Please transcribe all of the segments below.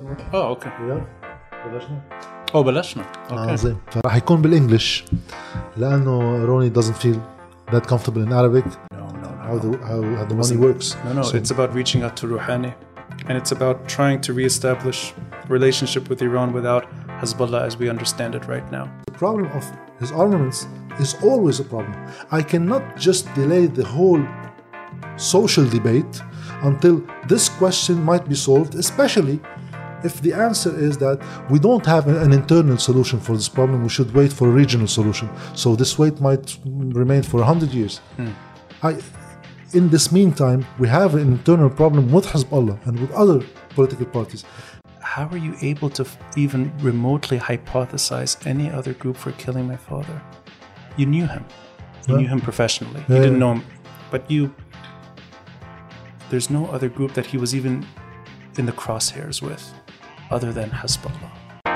اوكي. بلشنا. بلشنا. اوكي. زين. فراح يكون بالانجلش لانه روني doesn't feel that comfortable in Arabic. How the money works. No, it's about reaching out to Rouhani, and it's about trying to reestablish relationship with Iran without Hezbollah as we understand it right now. The problem of his armaments is always a problem. I cannot just delay the whole social debate until this question might be solved, especially if the answer is that we don't have an internal solution for this problem. We should wait for a regional solution. So this wait might remain for 100 years. In this meantime, we have an internal problem with Hezbollah and with other political parties. How are you able to even remotely hypothesize any other group for killing my father? You knew him. You knew him professionally. You didn't know him. But there's no other group that he was even in the crosshairs with other than Hezbollah.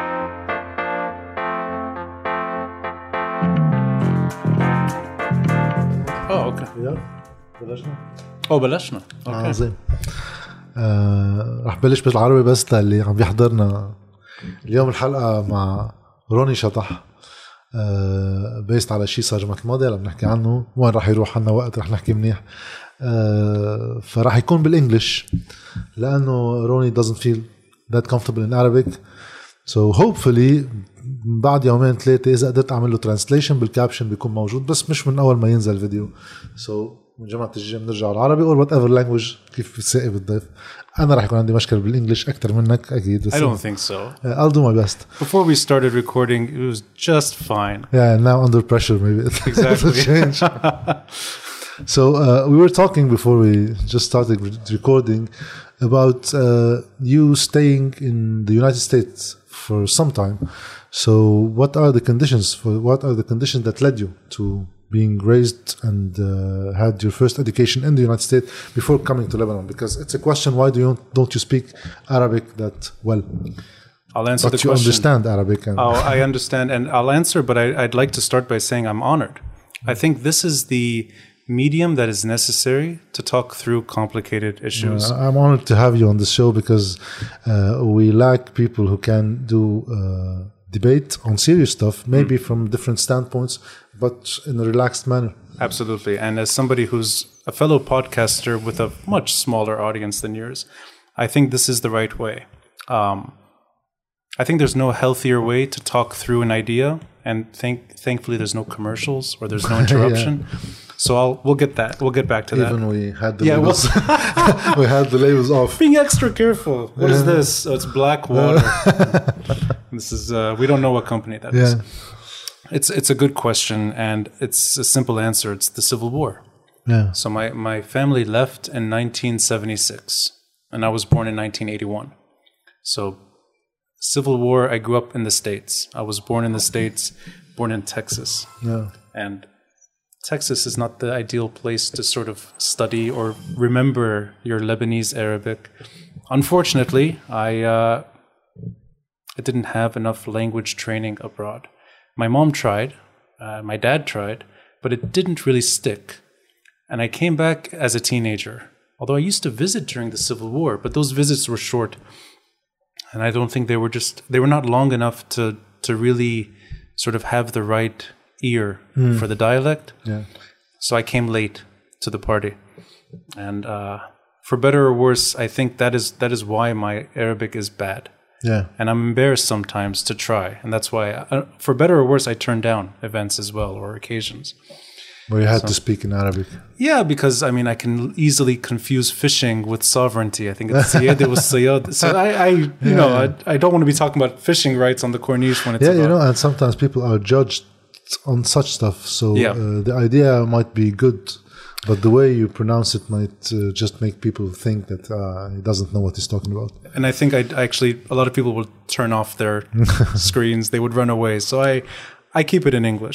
Okay. بلشنا. بلشنا. اوكي. زين. رح بلش بالعربي بس للي عم بيحضرنا اليوم. الحلقة مع روني شطح بيست على شيء صار الجمعة الماضية عم نحكي عنه. وين رح يروح عنا وقت رح نحكي منيح. فرح يكون بالانجلش لأنه روني doesn't feel that comfortable in Arabic. So hopefully بعد يومين ثلاثة إذا قدرت أعمل له translation بالكابشن بيكون موجود، بس مش من أول ما ينزل الفيديو. So من جمعة الجاية بنرجع العربي or whatever language كيف بتساقي بالضيف. أنا رح يكون عندي مشكلة بالإنجليش أكتر منك أكيد. I don't think so. I'll do my best. Before we started recording, it was just fine. Yeah, now under pressure maybe Exactly. change. So we were talking before we just started recording about you staying in the United States for some time. So what are the conditions that led you to being raised and had your first education in the United States before coming to Lebanon? Because it's a question, why don't you speak Arabic that well? I'll answer but the you question. Understand Arabic. I understand, and I'll answer, but I'd like to start by saying I'm honored. I think this is the medium that is necessary to talk through complicated issues. I'm honored to have you on the show because we lack people who can do debate on serious stuff, maybe from different standpoints, but in a relaxed manner. Absolutely. And as somebody who's a fellow podcaster with a much smaller audience than yours, I think this is the right way. I think there's no healthier way to talk through an idea, and thankfully there's no commercials or there's no interruption. So we'll get back to that. Even we had the labels. We had the labels off. Being extra careful. What is this? Oh, it's black water. This is we don't know what company that is. It's a good question, and it's a simple answer. It's the Civil War. Yeah. So my family left in 1976, and I was born in 1981. So Civil War, I grew up in the States. I was born in the States, born in Texas. Yeah. And Texas is not the ideal place to sort of study or remember your Lebanese Arabic. Unfortunately, I didn't have enough language training abroad. My mom tried, my dad tried, but it didn't really stick. And I came back as a teenager, although I used to visit during the Civil War, but those visits were short. And I don't think they were not long enough to really sort of have the right ear for the dialect. Yeah. So I came late to the party. And for better or worse, I think that is why my Arabic is bad. Yeah. And I'm embarrassed sometimes to try. And that's why, for better or worse, I turn down events as well or occasions. Where you had to speak in Arabic. Yeah, because, I mean, I can easily confuse fishing with sovereignty. I think it's siyada with siyad. So I don't want to be talking about fishing rights on the Corniche when it's about... and sometimes people are judged on such stuff. So the idea might be good, but the way you pronounce it might just make people think that he doesn't know what he's talking about. And I think a lot of people will turn off their screens. They would run away. So I keep it in English.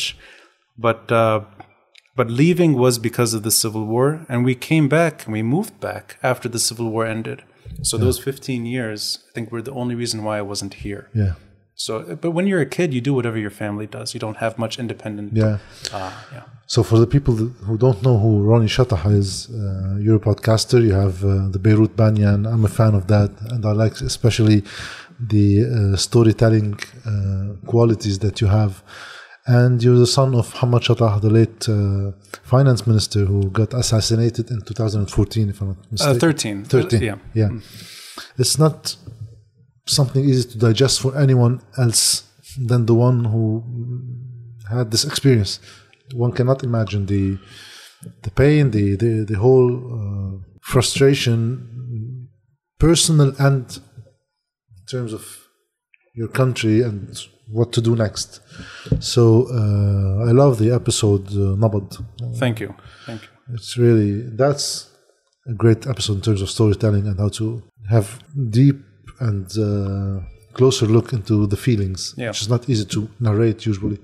But leaving was because of the Civil War, and we came back and we moved back after the Civil War ended. So those 15 years, I think, were the only reason why I wasn't here. Yeah. So, but when you're a kid, you do whatever your family does. You don't have much independent. Yeah. Yeah. So for the people who don't know who Ronnie Chatah is, you're a podcaster. You have the Beirut Banyan. I'm a fan of that, and I like especially the storytelling qualities that you have. And you're the son of Muhammad Chatah, the late finance minister who got assassinated in 2014, if I'm not mistaken. 13. Yeah. It's not something easy to digest for anyone else than the one who had this experience. One cannot imagine the pain, the whole frustration, personal and in terms of your country and what to do next. So I love the episode Nabad. Thank you. It's really, that's a great episode in terms of storytelling and how to have deep and closer look into the feelings, which is not easy to narrate usually.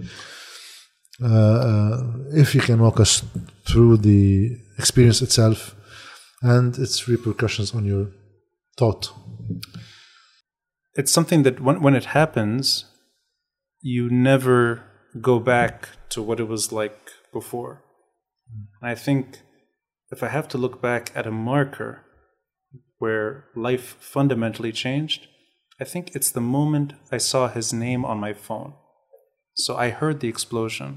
If you can walk us through the experience itself and its repercussions on your thought. It's something that when it happens, you never go back to what it was like before. And I think if I have to look back at a marker where life fundamentally changed, I think it's the moment I saw his name on my phone. So I heard the explosion.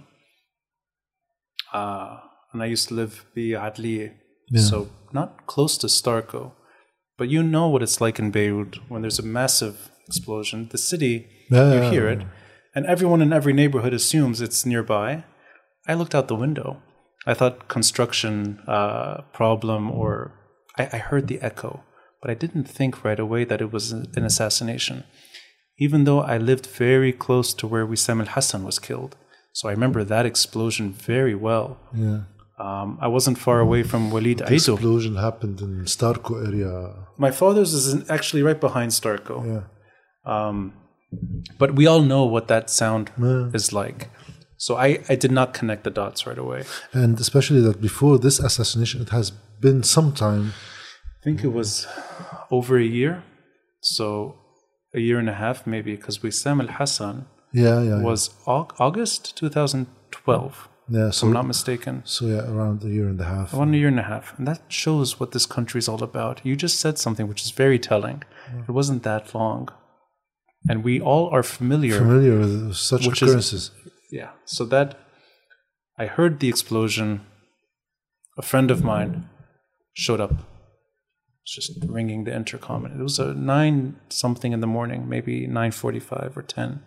And I used to live in Adliye, so not close to Starko. But you know what it's like in Beirut when there's a massive explosion. The city, you hear it, and everyone in every neighborhood assumes it's nearby. I looked out the window. I thought construction problem, or I heard the echo. But I didn't think right away that it was an assassination, even though I lived very close to where Wissam al-Hassan was killed. So I remember that explosion very well. Yeah. I wasn't far away from Walid Aido. The explosion happened in Starko area. My father's is actually right behind Starko. Yeah. But we all know what that sound is like. So I did not connect the dots right away. And especially that before this assassination, it has been some time. I think it was over a year. So a year and a half maybe, because Wissam al-Hassan was August 2012. Yeah, so if I'm not mistaken. So around a year and a half. Around a year and a half. And that shows what this country is all about. You just said something which is very telling. It wasn't that long. And we all are familiar with such occurrences. So that I heard the explosion. A friend of mine showed up. Just ringing the intercom. And it was 9 something in the morning, maybe 9:45 or 10.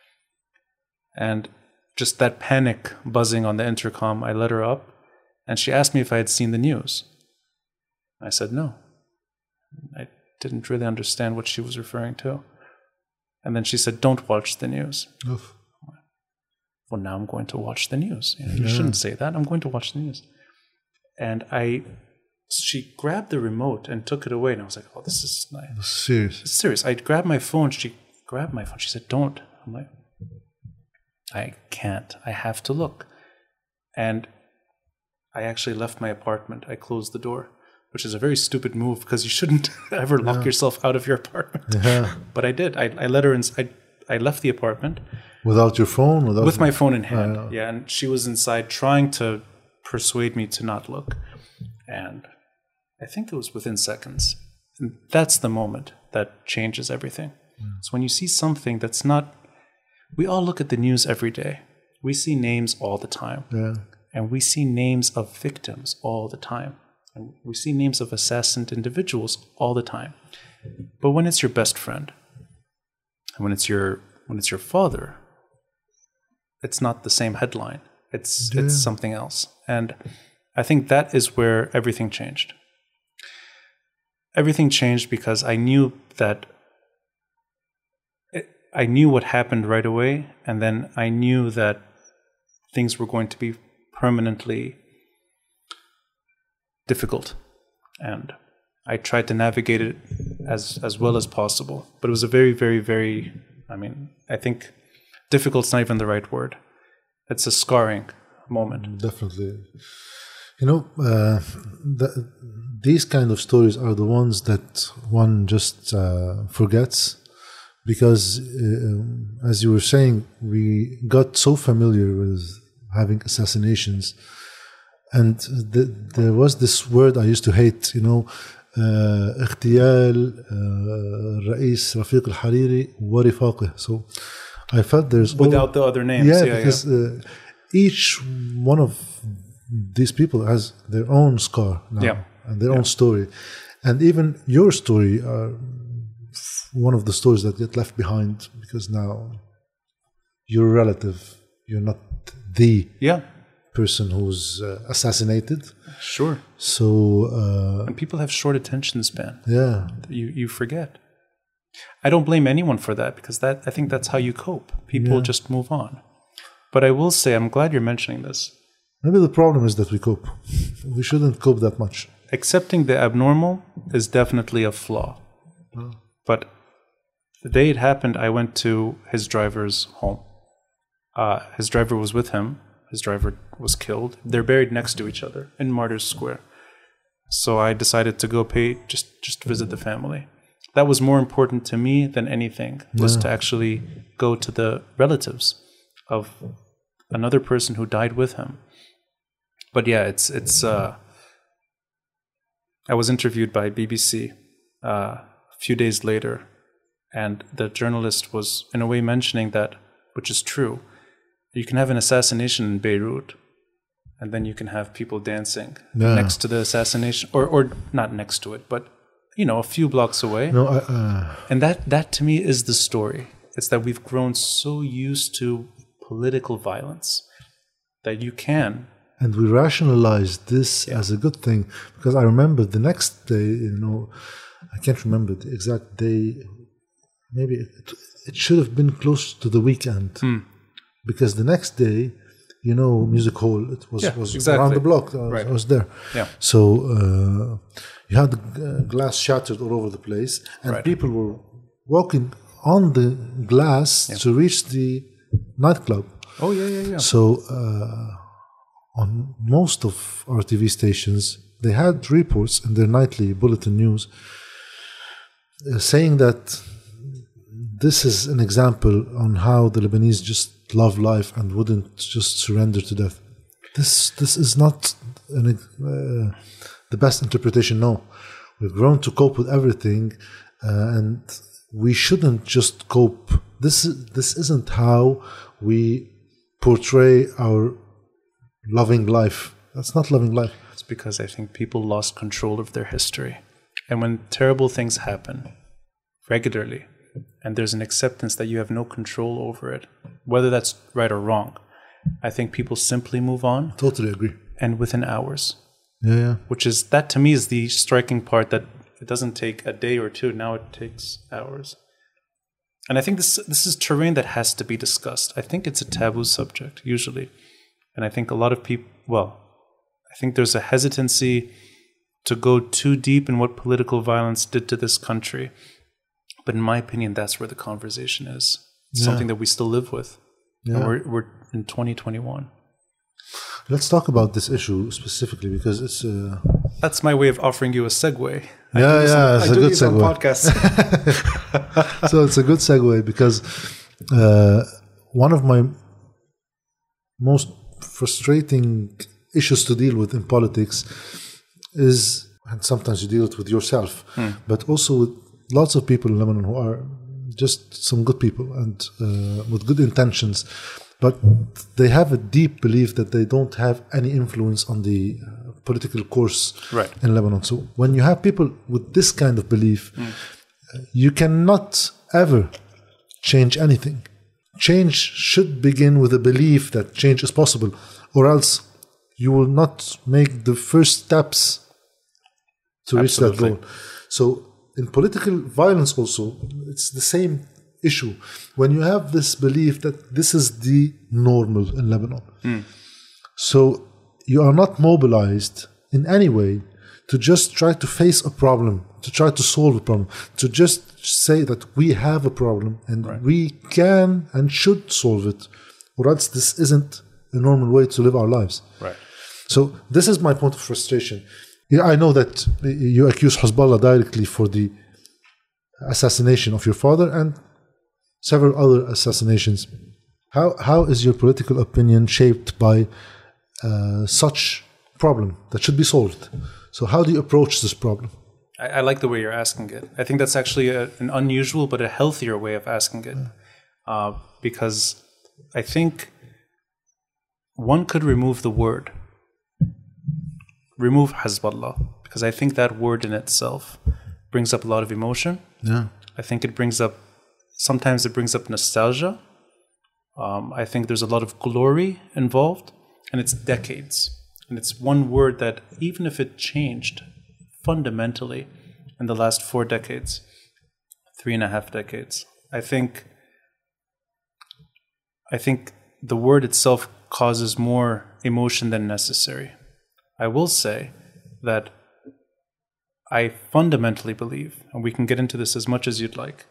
And just that panic buzzing on the intercom, I let her up, and she asked me if I had seen the news. I said no. I didn't really understand what she was referring to. And then she said, "Don't watch the news." Oof. Well, now I'm going to watch the news. You shouldn't say that. I'm going to watch the news. And she grabbed the remote and took it away, and I was like, "Oh, this is nice." It's serious. It's serious. I grabbed my phone. She grabbed my phone. She said, "Don't." I'm like, I can't. I have to look. And I actually left my apartment. I closed the door, which is a very stupid move because you shouldn't ever lock yourself out of your apartment. Yeah. But I did. I let her in. I left the apartment. Without your phone? With my phone in hand. Yeah. And she was inside trying to persuade me to not look. And I think it was within seconds. And that's the moment that changes everything. So when you see something that's not... We all look at the news every day. We see names all the time. Yeah. And we see names of victims all the time. And we see names of assassinated individuals all the time. But when it's your best friend, and when it's your father, it's not the same headline. It's something else. And I think that is where everything changed. Everything changed because I knew that I knew what happened right away, and then I knew that things were going to be permanently difficult. And I tried to navigate it as well as possible. But it was a very, very, very, I think difficult's not even the right word. It's a scarring moment. Definitely. These kind of stories are the ones that one just forgets. because as you were saying, we got so familiar with having assassinations, and there was this word I used to hate, اغتيال الرئيس رفيق الحريري ورفاقه. So I felt there's without the other names. Because each one of these people has their own scar now and their own story, and even your story are one of the stories that get left behind, because now you're a relative, you're not the person who's assassinated. Sure. So and people have short attention span. Yeah. You forget. I don't blame anyone for that, because I think that's how you cope. People just move on. But I will say, I'm glad you're mentioning this. Maybe the problem is that we cope. We shouldn't cope that much. Accepting the abnormal is definitely a flaw. But the day it happened, I went to his driver's home. His driver was with him. His driver was killed. They're buried next to each other in Martyrs Square. So I decided to go just visit the family. That was more important to me than anything, was to actually go to the relatives of another person who died with him. But yeah, it's I was interviewed by BBC a few days later, and the journalist was in a way mentioning that, which is true, you can have an assassination in Beirut, and then you can have people dancing next to the assassination, or not next to it, but a few blocks away. And that to me is the story. It's that we've grown so used to political violence that you can. And we rationalize this as a good thing, because I remember the next day, I can't remember the exact day. Maybe it should have been close to the weekend, because the next day, Music Hall, it was exactly around the block. I was there. Yeah. So you had the glass shattered all over the place, and people were walking on the glass to reach the nightclub. Oh, yeah. So on most of our TV stations, they had reports in their nightly bulletin news saying that this is an example on how the Lebanese just love life and wouldn't just surrender to death. This is not the best interpretation. No, we've grown to cope with everything, and we shouldn't just cope. This isn't how we portray our loving life. That's not loving life. It's because I think people lost control of their history, and when terrible things happen regularly, and there's an acceptance that you have no control over it, whether that's right or wrong, I think people simply move on. Totally agree. And within hours. Yeah. Which is, that to me is the striking part, that it doesn't take a day or two, now it takes hours. And I think this is terrain that has to be discussed. I think it's a taboo subject, usually. And I think a lot of people, I think there's a hesitancy to go too deep in what political violence did to this country. But in my opinion, that's where the conversation is. It's something that we still live with. Yeah. And we're in 2021. Let's talk about this issue specifically, because it's... That's my way of offering you a segue. It's a good segue. Podcast. So it's a good segue, because one of my most frustrating issues to deal with in politics is, and sometimes you deal with yourself, but also with lots of people in Lebanon who are just some good people and with good intentions, but they have a deep belief that they don't have any influence on the political course in Lebanon. So when you have people with this kind of belief, you cannot ever change anything. Change should begin with a belief that change is possible, or else you will not make the first steps to reach that goal. So in political violence also, it's the same issue. When you have this belief that this is the normal in Lebanon, so you are not mobilized in any way to just try to face a problem, to try to solve a problem, to just say that we have a problem and we can and should solve it, or else this isn't a normal way to live our lives. Right. So this is my point of frustration. I know that you accuse Hezbollah directly for the assassination of your father, and several other assassinations. How is your political opinion shaped by such problem that should be solved? So how do you approach this problem? I like the way you're asking it. I think that's actually an unusual but a healthier way of asking it. Because I think one could remove the word. Remove Hezbollah. Because I think that word in itself brings up a lot of emotion. Yeah. I think it brings up, sometimes it brings up nostalgia. I think there's a lot of glory involved. And it's decades. And it's one word that even if it changed fundamentally in the last 4 decades, 3.5 decades, I think the word itself causes more emotion than necessary. I will say that I fundamentally believe, and we can get into this as much as you'd like,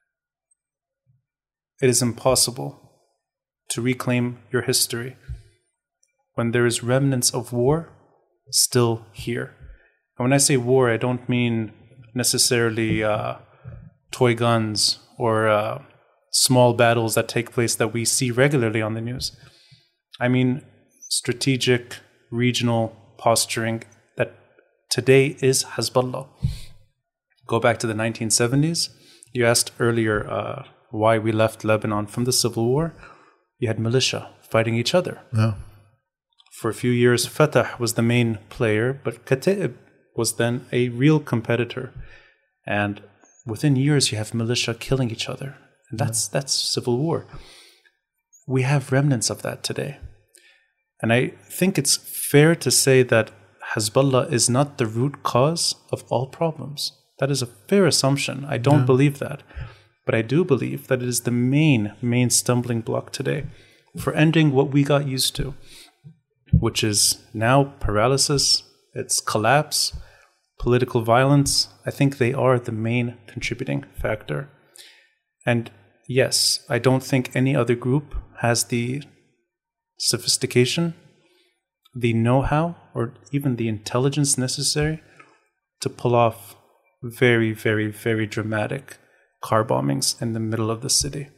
it is impossible to reclaim your history when there is remnants of war still here. And when I say war, I don't mean necessarily toy guns or small battles that take place that we see regularly on the news. I mean strategic, regional posturing that today is Hezbollah. Go back to the 1970s. You asked earlier why we left Lebanon from the civil war. You had militia fighting each other. Yeah. For a few years, Fatah was the main player, but Kataib was then a real competitor. And within years, you have militia killing each other. And that's civil war. We have remnants of that today. And I think it's fair to say that Hezbollah is not the root cause of all problems. That is a fair assumption. I don't believe that. But I do believe that it is the main stumbling block today for ending what we got used to, which is now paralysis, it's collapse, political violence. I think they are the main contributing factor. And yes, I don't think any other group has the sophistication, the know-how, or even the intelligence necessary to pull off very, very, very dramatic car bombings in the middle of the city.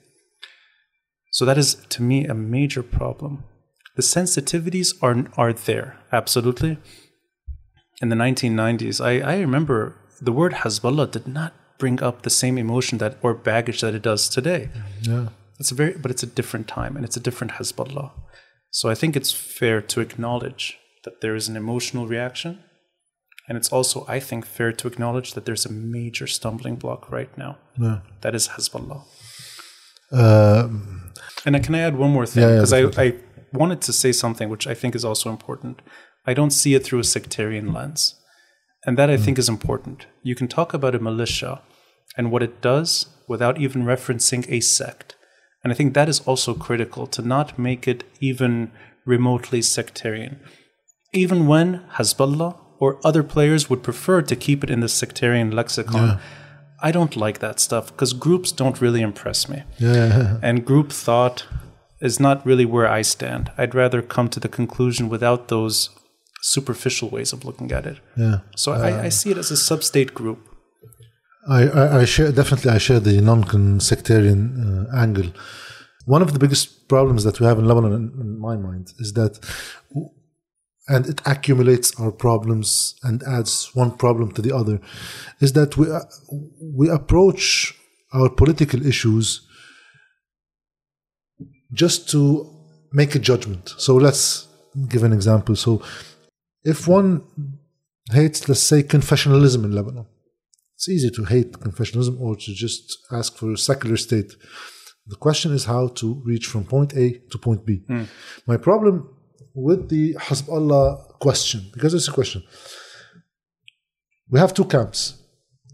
So that is, to me, a major problem. The sensitivities are there, absolutely. In the 1990s, I remember the word Hezbollah did not bring up the same emotion that or baggage that it does today. Yeah. But it's a different time and it's a different Hezbollah. So I think it's fair to acknowledge that there is an emotional reaction. And it's also, I think, fair to acknowledge that there's a major stumbling block right now. Yeah. That is Hezbollah. And can I add one more thing? Because I wanted to say something which I think is also important. I don't see it through a sectarian lens. And that I think is important. You can talk about a militia and what it does without even referencing a sect. And I think that is also critical, to not make it even remotely sectarian. Even when Hezbollah or other players would prefer to keep it in the sectarian lexicon, I don't like that stuff because groups don't really impress me. And group thought is not really where I stand. I'd rather come to the conclusion without those superficial ways of looking at it. So I see it as a sub-state group. I share the non-sectarian angle. One of the biggest problems that we have in Lebanon, in my mind, is that, and it accumulates our problems and adds one problem to the other, is that we approach our political issues just to make a judgment. So let's give an example. So if one hates, let's say, confessionalism in Lebanon, it's easy to hate confessionalism or to just ask for a secular state. The question is how to reach from point A to point B. My problem with the Hezbollah question, because it's a question, we have two camps.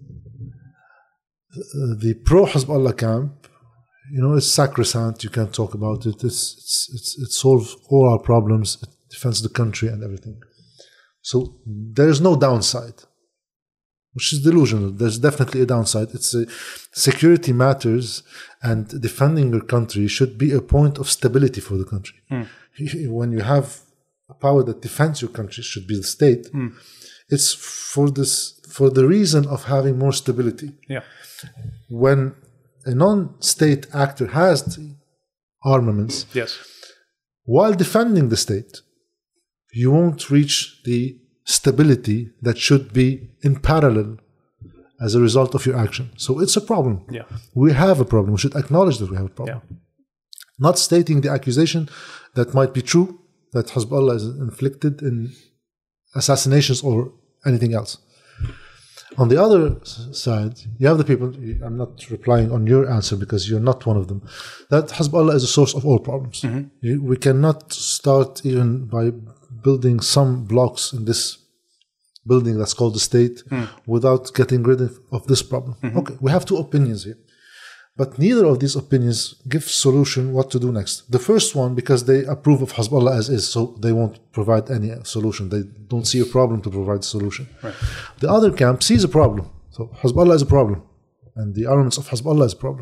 The pro-Hezbollah camp, it's sacrosanct. You can't talk about it. It solves all our problems. It defends the country and everything. So there is no downside, which is delusional. There's definitely a downside. It's security matters, and defending your country should be a point of stability for the country. When you have a power that defends your country, should be the state. It's for the reason of having more stability. When a non-state actor has the armaments, Yes. while defending the state, you won't reach the stability that should be in parallel as a result of your action. So it's a problem. Yeah. We have a problem. We should acknowledge that we have a problem. Yeah. Not stating the accusation that might be true, that Hezbollah is inflicted in assassinations or anything else. On the other side, you have the people, I'm not replying on your answer because you're not one of them, that Hezbollah is a source of all problems. We cannot start even by building some blocks in this building that's called the state without getting rid of this problem. Okay, we have two opinions here. But neither of these opinions give solution what to do next. The first one, because they approve of Hezbollah as is, so they won't provide any solution. They don't see a problem to provide a solution. Right. The other camp sees a problem. So Hezbollah is a problem. And the armaments of Hezbollah is a problem.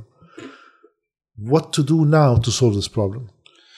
What to do now to solve this problem?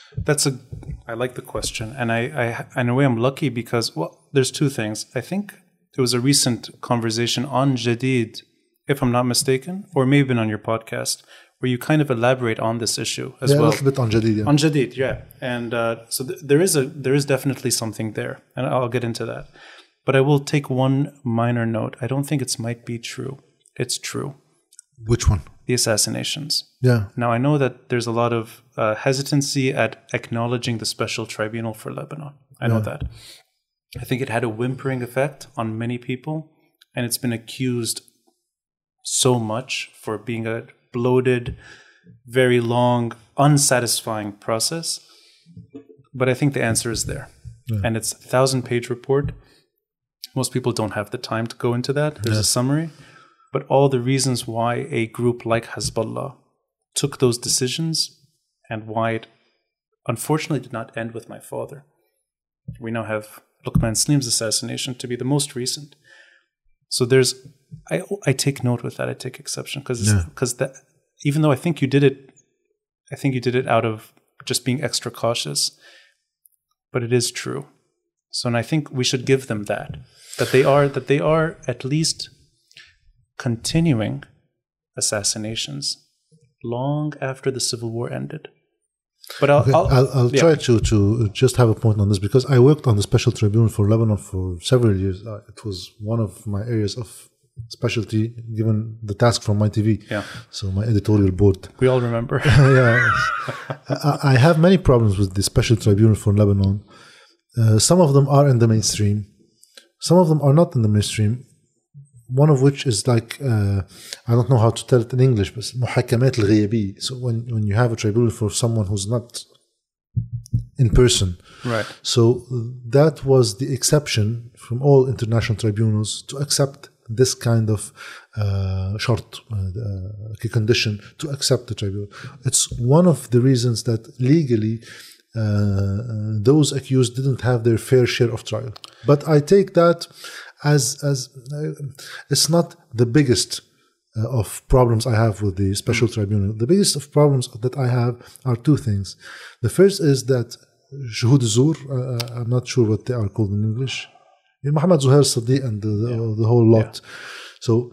I like the question. And I in a way, I'm lucky because, well, there's two things. I think there was a recent conversation on Jadid, if I'm not mistaken, or maybe been on your podcast, where you kind of elaborate on this issue as well. A little bit on Jadid. Yeah. On Jadid, yeah. And so there is definitely something there, and I'll get into that. But I will take one minor note. I don't think it might be true. It's true. Which one? The assassinations. Yeah. Now, I know that there's a lot of hesitancy at acknowledging the Special Tribunal for Lebanon. I know that. I think it had a whimpering effect on many people, and it's been accused so much for being a bloated, very long, unsatisfying process. But I think the answer is there. Yeah. And it's a 1,000-page report. Most people don't have the time to go into that. There's a summary. But all the reasons why a group like Hezbollah took those decisions and why it unfortunately did not end with my father. We now have Luqman Slim's assassination to be the most recent. So I take note with that. I take exception because that, even though I think you did it out of just being extra cautious, but it is true. So, and I think we should give them that they are at least continuing assassinations long after the civil war ended. But I'll try to just have a point on this because I worked on the Special Tribunal for Lebanon for several years. It was one of my areas of specialty, given the task from my TV. Yeah. So my editorial board. We all remember. Yeah. I have many problems with the Special Tribunal for Lebanon. Some of them are in the mainstream. Some of them are not in the mainstream. One of which is like, I don't know how to tell it in English, but محاكمات الغيابية. So when you have a tribunal for someone who's not in person. Right. So that was the exception from all international tribunals to accept this kind of short condition to accept the tribunal. It's one of the reasons that legally those accused didn't have their fair share of trial. But I take that as it's not the biggest of problems I have with the Special Tribunal. The biggest of problems that I have are two things. The first is that Shuhud Zur, I'm not sure what they are called in English, Mohammed Zuhair Sadiq and the whole lot. Yeah. So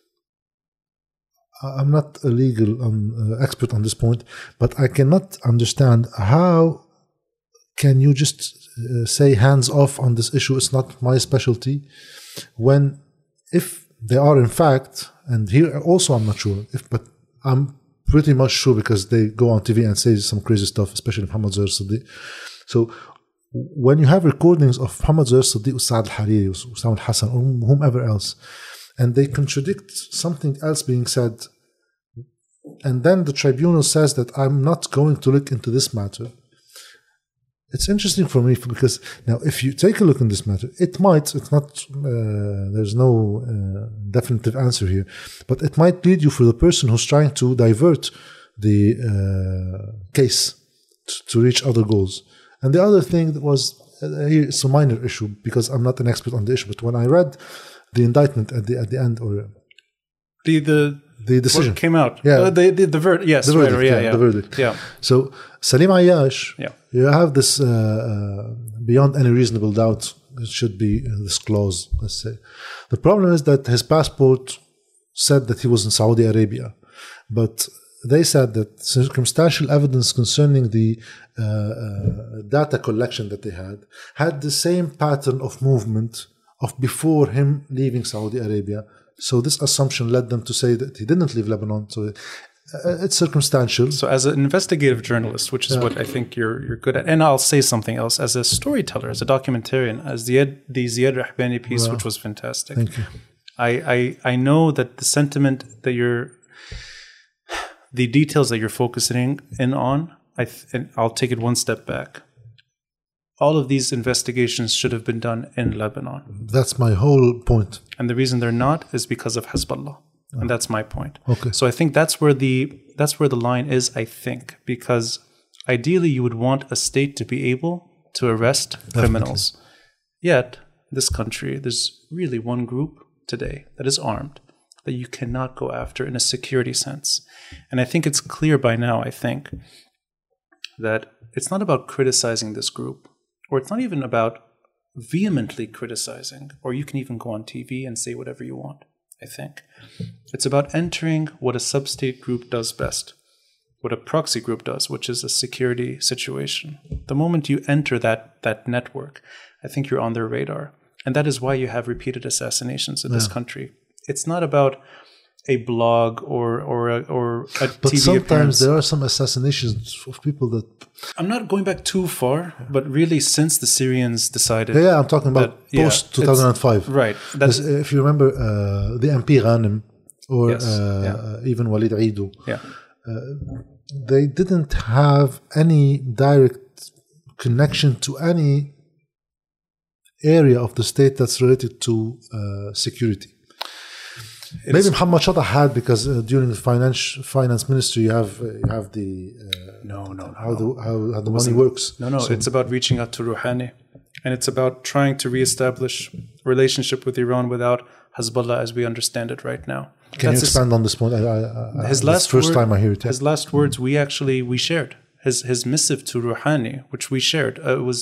I'm not a legal expert on this point, but I cannot understand how can you just say hands off on this issue, it's not my specialty, when if they are in fact, and here also I'm not sure, but I'm pretty much sure because they go on TV and say some crazy stuff, especially Mohammed Zuhair Sadiq. So when you have recordings of Mohammed Zuhair Sadiq, Saad al-Hariri, Usama al-Hassan, or whomever else, and they contradict something else being said, and then the tribunal says that I'm not going to look into this matter. It's interesting for me because now if you take a look in this matter, it's not, there's no definitive answer here, but it might lead you for the person who's trying to divert the case to reach other goals. And the other thing that was, here it's a minor issue because I'm not an expert on the issue, but when I read the indictment at the end, or the decision what came out. Yeah. The verdict. Yes. The verdict. Right, yeah. The verdict. Yeah. So Salim Ayyash, you have this beyond any reasonable doubt, it should be this clause, let's say. The problem is that his passport said that he was in Saudi Arabia, but they said that circumstantial evidence concerning the data collection that they had the same pattern of movement of before him leaving Saudi Arabia. So this assumption led them to say that he didn't leave Lebanon. So it's circumstantial. So as an investigative journalist, which is what I think you're good at, and I'll say something else, as a storyteller, as a documentarian, as the Ziad Rahbani piece, which was fantastic. Thank you. I know that the sentiment that the details that you're focusing in on, and I'll take it one step back. All of these investigations should have been done in Lebanon. That's my whole point. And the reason they're not is because of Hezbollah. And that's my point. Okay. So I think that's where the line is, I think, because ideally you would want a state to be able to arrest criminals. Yet, this country, there's really one group today that is armed that you cannot go after in a security sense. And I think it's clear by now, I think, that it's not about criticizing this group, or it's not even about vehemently criticizing, or you can even go on TV and say whatever you want, I think. It's about entering what a sub-state group does best, what a proxy group does, which is a security situation. The moment you enter that network, I think you're on their radar. And that is why you have repeated assassinations in this country. It's not about a blog or a but TV sometimes appearance. there are some assassinations of people that... I'm not going back too far, but really since the Syrians decided... Yeah, I'm talking about post-2005. Right. If you remember the MP Ghanem or even Walid Eido, they didn't have any direct connection to any area of the state that's related to security. Maybe Muhammad Shattah had, because during the finance ministry you have the how the money works. No, so it's about reaching out to Rouhani, and it's about trying to reestablish relationship with Iran without Hezbollah as we understand it right now. Can you expand on this point? Time I hear it. His last words we shared his missive to Rouhani, which we shared. It was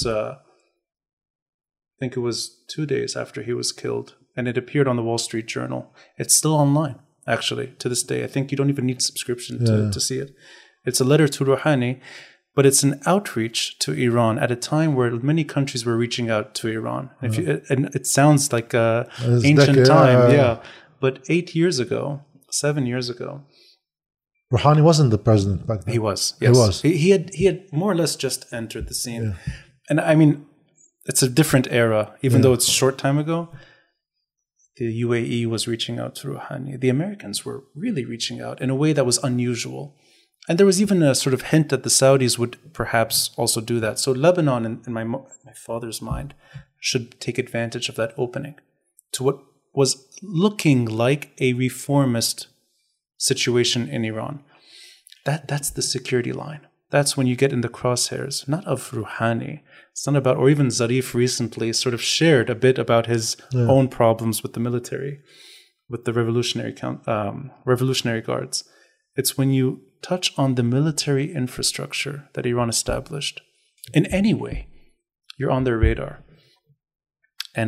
I think it was 2 days after he was killed. And it appeared on the Wall Street Journal. It's still online, actually, to this day. I think you don't even need subscription to see it. It's a letter to Rouhani, but it's an outreach to Iran at a time where many countries were reaching out to Iran. And it sounds like ancient time, But 8 years ago, 7 years ago, Rouhani wasn't the president back then. He was, yes. He was. He had more or less just entered the scene. And I mean, it's a different era, even though it's a short time ago. The UAE was reaching out to Rouhani. The Americans were really reaching out in a way that was unusual. And there was even a sort of hint that the Saudis would perhaps also do that. So Lebanon, in my father's mind, should take advantage of that opening to what was looking like a reformist situation in Iran. That's the security line. That's when you get in the crosshairs, not of Rouhani. It's not about, or even Zarif recently sort of shared a bit about his own problems with the military, with the Revolutionary Guards. It's when you touch on the military infrastructure that Iran established in any way, you're on their radar. And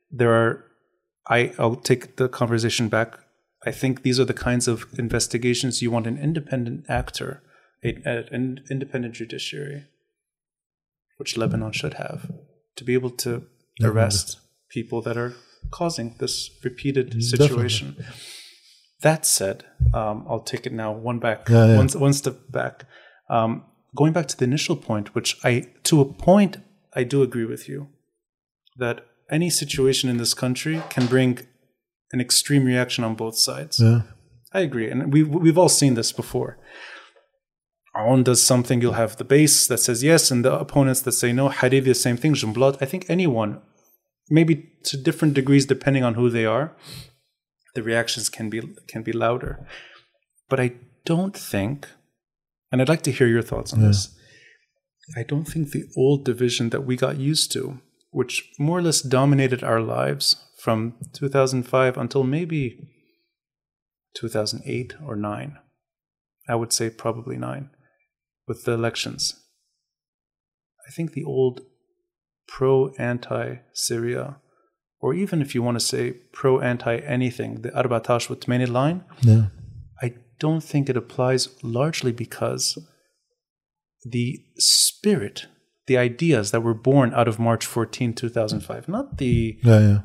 I'll take the conversation back. I think these are the kinds of investigations you want an independent actor, an independent judiciary, which Lebanon should have, to be able to arrest people that are causing this repeated situation. Definitely. That said, I'll take it now one step back. Going back to the initial point, which to a point, I do agree with you, that any situation in this country can bring an extreme reaction on both sides. Yeah. I agree. And we've all seen this before. Aoun does something, you'll have the base that says yes, and the opponents that say no. Hariri, the same thing. Jumblat. I think anyone, maybe to different degrees depending on who they are, the reactions can be louder. But I don't think, and I'd like to hear your thoughts on this, I don't think the old division that we got used to, which more or less dominated our lives from 2005 until maybe 2008 or 9, I would say probably 9, with the elections. I think the old pro-anti-Syria, or even if you want to say pro-anti-anything, the 14 والثمانين line, I don't think it applies largely because the spirit, the ideas that were born out of March 14, 2005, not the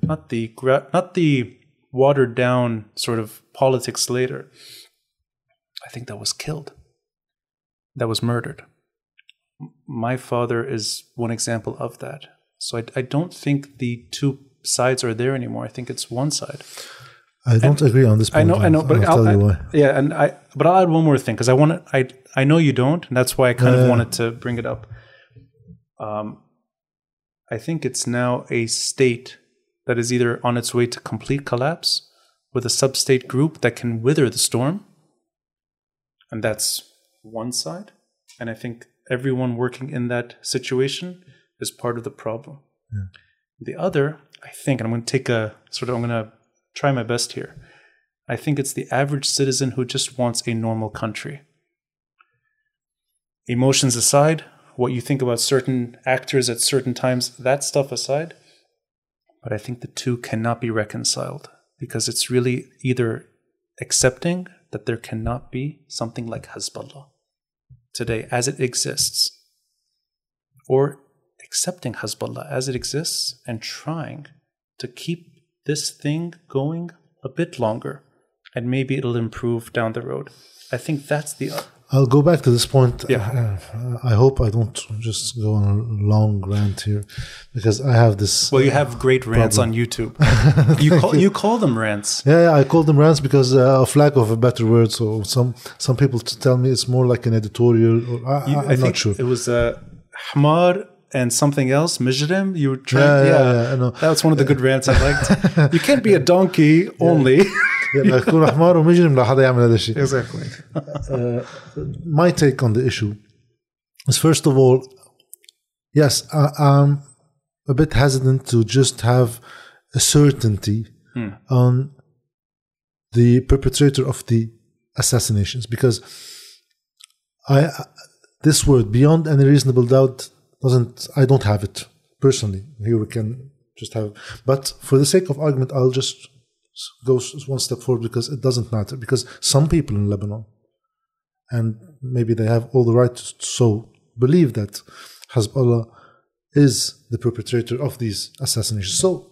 watered down sort of politics later. I think that was killed. That was murdered. My father is one example of that. So I don't think the two sides are there anymore. I think it's one side. I don't agree on this point. I know, but I'll tell you why. Yeah, but I'll add one more thing because I know you don't, and that's why I kind of wanted to bring it up. I think it's now a state that is either on its way to complete collapse with a sub-state group that can wither the storm, and that's one side. And I think everyone working in that situation is part of the problem. Yeah. The other, I think, and I'm going to try my best here. I think it's the average citizen who just wants a normal country. Emotions aside, what you think about certain actors at certain times, that stuff aside, but I think the two cannot be reconciled because it's really either accepting that there cannot be something like Hezbollah today as it exists, or accepting Hezbollah as it exists and trying to keep this thing going a bit longer, and maybe it'll improve down the road. I think that's the... I'll go back to this point. Yeah. I hope I don't just go on a long rant here, because I have this... Well, you have great rants on YouTube. You call them rants. Yeah, I call them rants because of lack of a better word. So some people tell me it's more like an editorial. I'm not sure. It was Hamar and something else, Mijrim. You were trying. Yeah, I know. That was one of the good rants I liked. You can't be a donkey only. Exactly. My take on the issue is, first of all, yes, I'm a bit hesitant to just have a certainty on the perpetrator of the assassinations, because this word, beyond any reasonable doubt, I don't have it personally. Here we can just have, but for the sake of argument, I'll just go one step forward, because it doesn't matter, because some people in Lebanon, and maybe they have all the right to so believe that Hezbollah is the perpetrator of these assassinations. So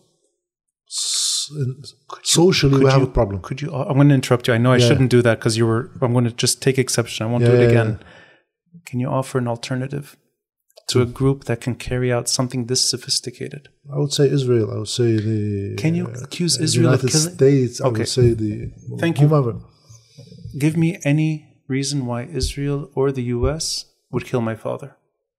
socially we have a problem. I'm going to interrupt you. I know I shouldn't do that because I'm going to just take exception. I won't do it again. Can you offer an alternative to a group that can carry out something this sophisticated? I would say Israel. I would say the... Can you accuse Israel of killing? States, I would say the... Thank you. Whomever. Give me any reason why Israel or the US would kill my father.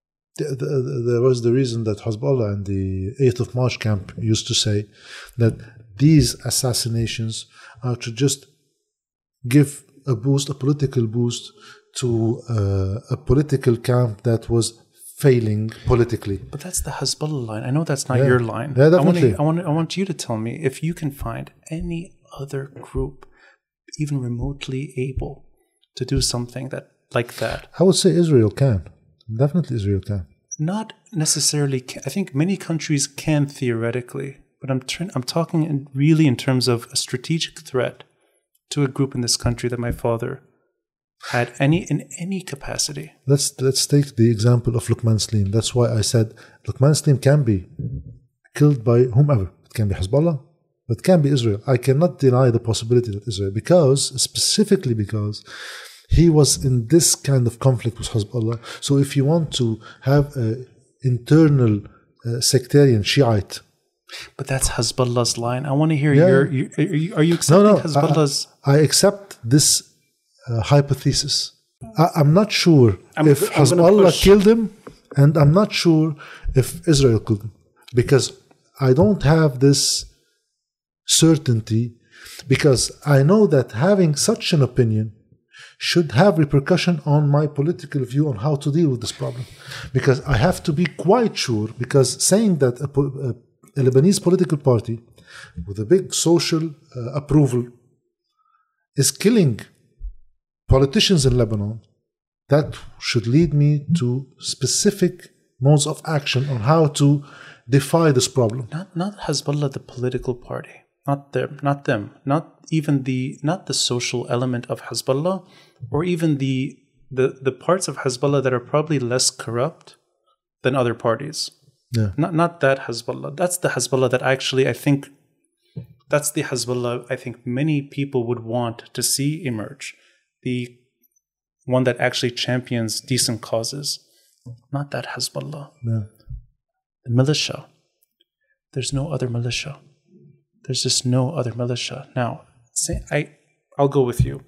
There was the reason that Hezbollah and the 8th of March camp used to say that these assassinations are to just give a political boost to a political camp that was failing politically. But that's the Hezbollah line. I know that's not your line. Yeah, definitely. I want you to tell me if you can find any other group even remotely able to do something like that. I would say Israel can. Definitely Israel can. Not necessarily. I think many countries can theoretically, but I'm talking really in terms of a strategic threat to a group in this country that my father had in any capacity. Let's take the example of Luqman Slim. That's why I said Luqman Slim can be killed by whomever. It can be Hezbollah, but it can be Israel. I cannot deny the possibility that Israel, specifically because he was in this kind of conflict with Hezbollah. So if you want to have an internal sectarian Shiite... But that's Hezbollah's line. I want to hear are you accepting Hezbollah's... I accept this hypothesis. I'm not sure if Hezbollah killed him, and I'm not sure if Israel killed him, because I don't have this certainty, because I know that having such an opinion should have repercussion on my political view on how to deal with this problem, because I have to be quite sure, because saying that a Lebanese political party with a big social approval is killing politicians in Lebanon, that should lead me to specific modes of action on how to defy this problem. Not Hezbollah, the political party. not them, not the social element of Hezbollah, or even the parts of Hezbollah that are probably less corrupt than other parties. Yeah. Not that Hezbollah. That's the Hezbollah that actually that's the Hezbollah I think many people would want to see emerge. The one that actually champions decent causes. Not that Hezbollah. Yeah. The militia. There's no other militia. There's just no other militia. Now, I'll go with you.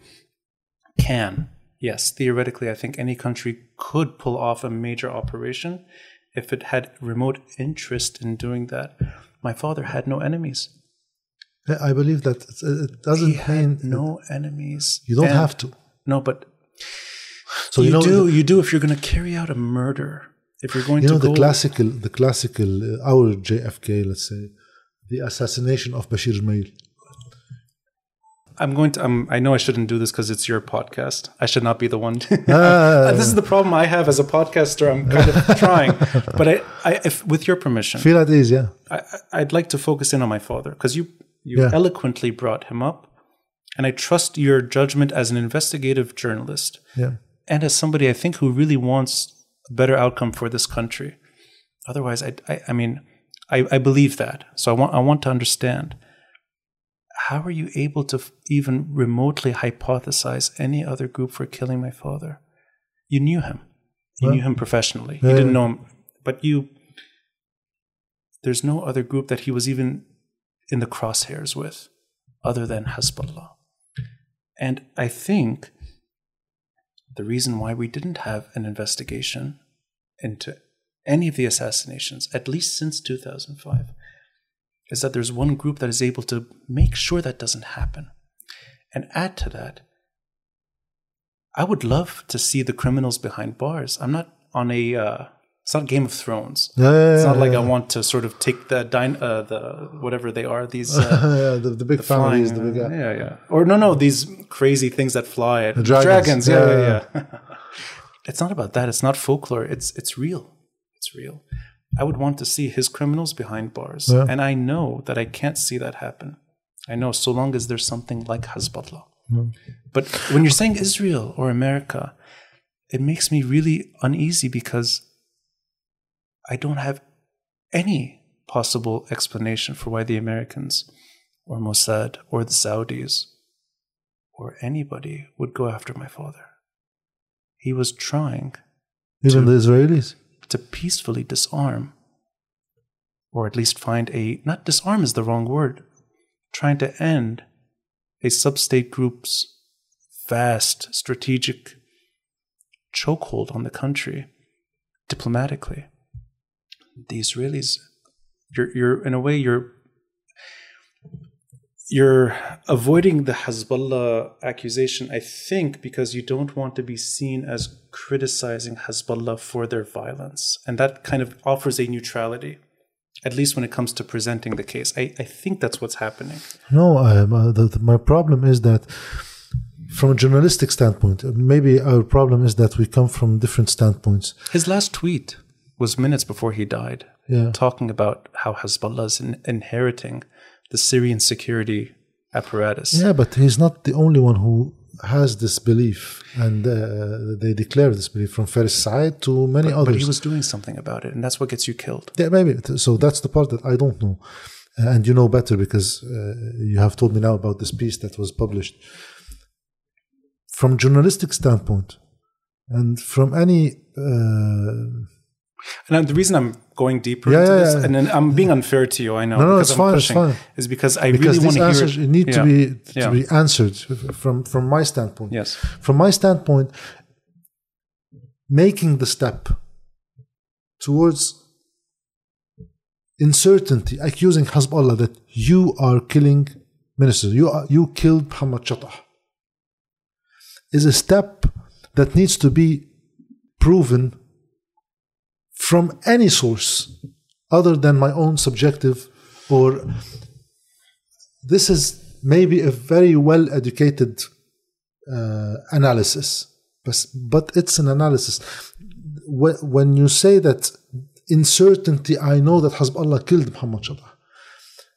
Yes, theoretically, I think any country could pull off a major operation if it had remote interest in doing that. My father had no enemies. I believe that it doesn't mean no enemies. You don't have to. No, but so you do if you're going to carry out a murder. If you're going to the classical our JFK, let's say, the assassination of Bashir Gemayel. I know I shouldn't do this because it's your podcast. I should not be the one. This is the problem I have as a podcaster. I'm kind of trying, but if with your permission, feel at ease. Yeah, I'd like to focus in on my father because you eloquently brought him up, and I trust your judgment as an investigative journalist, and as somebody I think who really wants a better outcome for this country. Otherwise, I believe that. So I want to understand. How are you able to even remotely hypothesize any other group for killing my father? You knew him. You knew him professionally. You didn't know him. But there's no other group that he was even in the crosshairs with other than Hezbollah. And I think the reason why we didn't have an investigation into any of the assassinations, at least since 2005, is that there's one group that is able to make sure that doesn't happen. And add to that, I would love to see the criminals behind bars. I'm not on it's not Game of Thrones. It's not like I want to sort of take the whatever they are, these the big families, flying, the big or no, these crazy things that fly. The dragons. Yeah. It's not about that. It's not folklore. It's real. It's real. I would want to see his criminals behind bars. Yeah. And I know that I can't see that happen. I know so long as there's something like Hezbollah. Mm. But when you're saying Israel or America, it makes me really uneasy because I don't have any possible explanation for why the Americans or Mossad or the Saudis or anybody would go after my father. He was trying. Even the Israelis? To peacefully disarm, or at least find not disarm is the wrong word, trying to end a sub-state group's vast strategic chokehold on the country diplomatically. The Israelis, you're in a way, you're avoiding the Hezbollah accusation, I think, because you don't want to be seen as criticizing Hezbollah for their violence. And that kind of offers a neutrality, at least when it comes to presenting the case. I think that's what's happening. No, my problem is that from a journalistic standpoint, maybe our problem is that we come from different standpoints. His last tweet was minutes before he died, talking about how Hezbollah is inheriting the Syrian security apparatus. Yeah, but he's not the only one who has this belief, and they declare this belief from Faris Said to many others. But he was doing something about it, and that's what gets you killed. Yeah, maybe. So that's the part that I don't know. And you know better because you have told me now about this piece that was published. From journalistic standpoint, and from any... And the reason I'm going deeper into this, and then I'm being unfair to you, I know. No, it's fine, it's fine. Is because I really want to hear it. Need to be answered from my standpoint. Yes. From my standpoint, making the step towards uncertainty, accusing Hezbollah that you are killing ministers, you killed Mohammed Shatah, is a step that needs to be proven from any source other than my own subjective, or this is maybe a very well-educated analysis, but it's an analysis. When you say that in certainty, I know that Hezbollah killed Mohammed Shatah,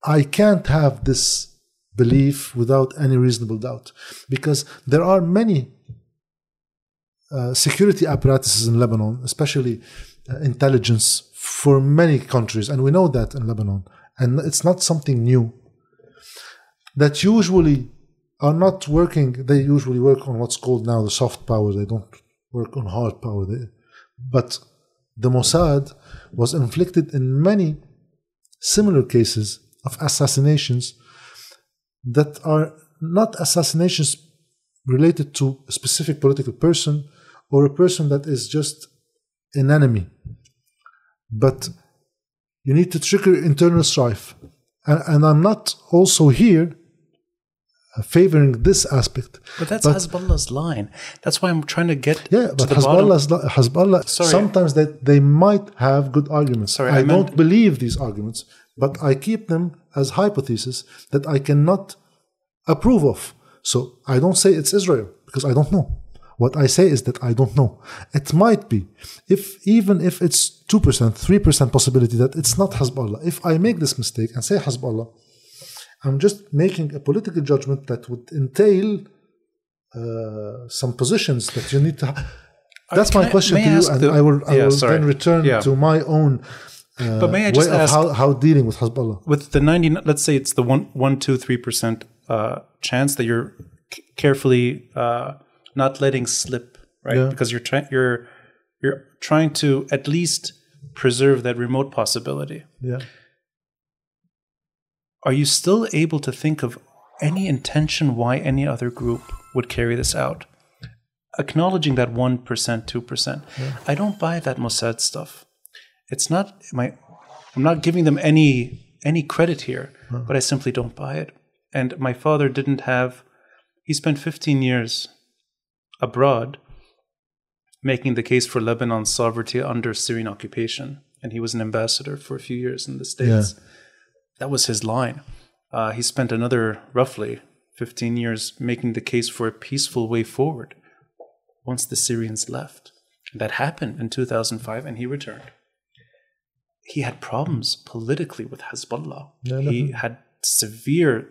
I can't have this belief without any reasonable doubt, because there are many security apparatuses in Lebanon, especially intelligence for many countries, and we know that in Lebanon, and it's not something new, that usually are not working. They usually work on what's called now the soft power. They don't work on hard power. But the Mossad was inflicted in many similar cases of assassinations that are not assassinations related to a specific political person or a person that is just an enemy. But you need to trigger internal strife. And I'm not also here favoring this aspect. But that's Hezbollah's line. That's why I'm trying to get to the Hezbollah, sometimes they might have good arguments. I don't believe these arguments, but I keep them as hypotheses that I cannot approve of. So I don't say it's Israel, because I don't know. What I say is that I don't know. It might be, even if it's 2%, 3% possibility that it's not Hezbollah. If I make this mistake and say Hezbollah, I'm just making a political judgment that would entail some positions that you need to have. That's my question to you, and I will then return to my own but may I just way of ask, how dealing with Hezbollah. With the 90, let's say it's the 3% chance that you're carefully not letting slip, right? Yeah. Because you're trying to at least preserve that remote possibility. Yeah. Are you still able to think of any intention why any other group would carry this out? Acknowledging that 1%, 2%. Yeah. I don't buy that Mossad stuff. It's not I'm not giving them any credit here, but I simply don't buy it. And my father he spent 15 years abroad making the case for Lebanon's sovereignty under Syrian occupation. And he was an ambassador for a few years in the States. Yeah. That was his line. He spent another roughly 15 years making the case for a peaceful way forward once the Syrians left. That happened in 2005, and he returned. He had problems politically with Hezbollah. Yeah, he had severe...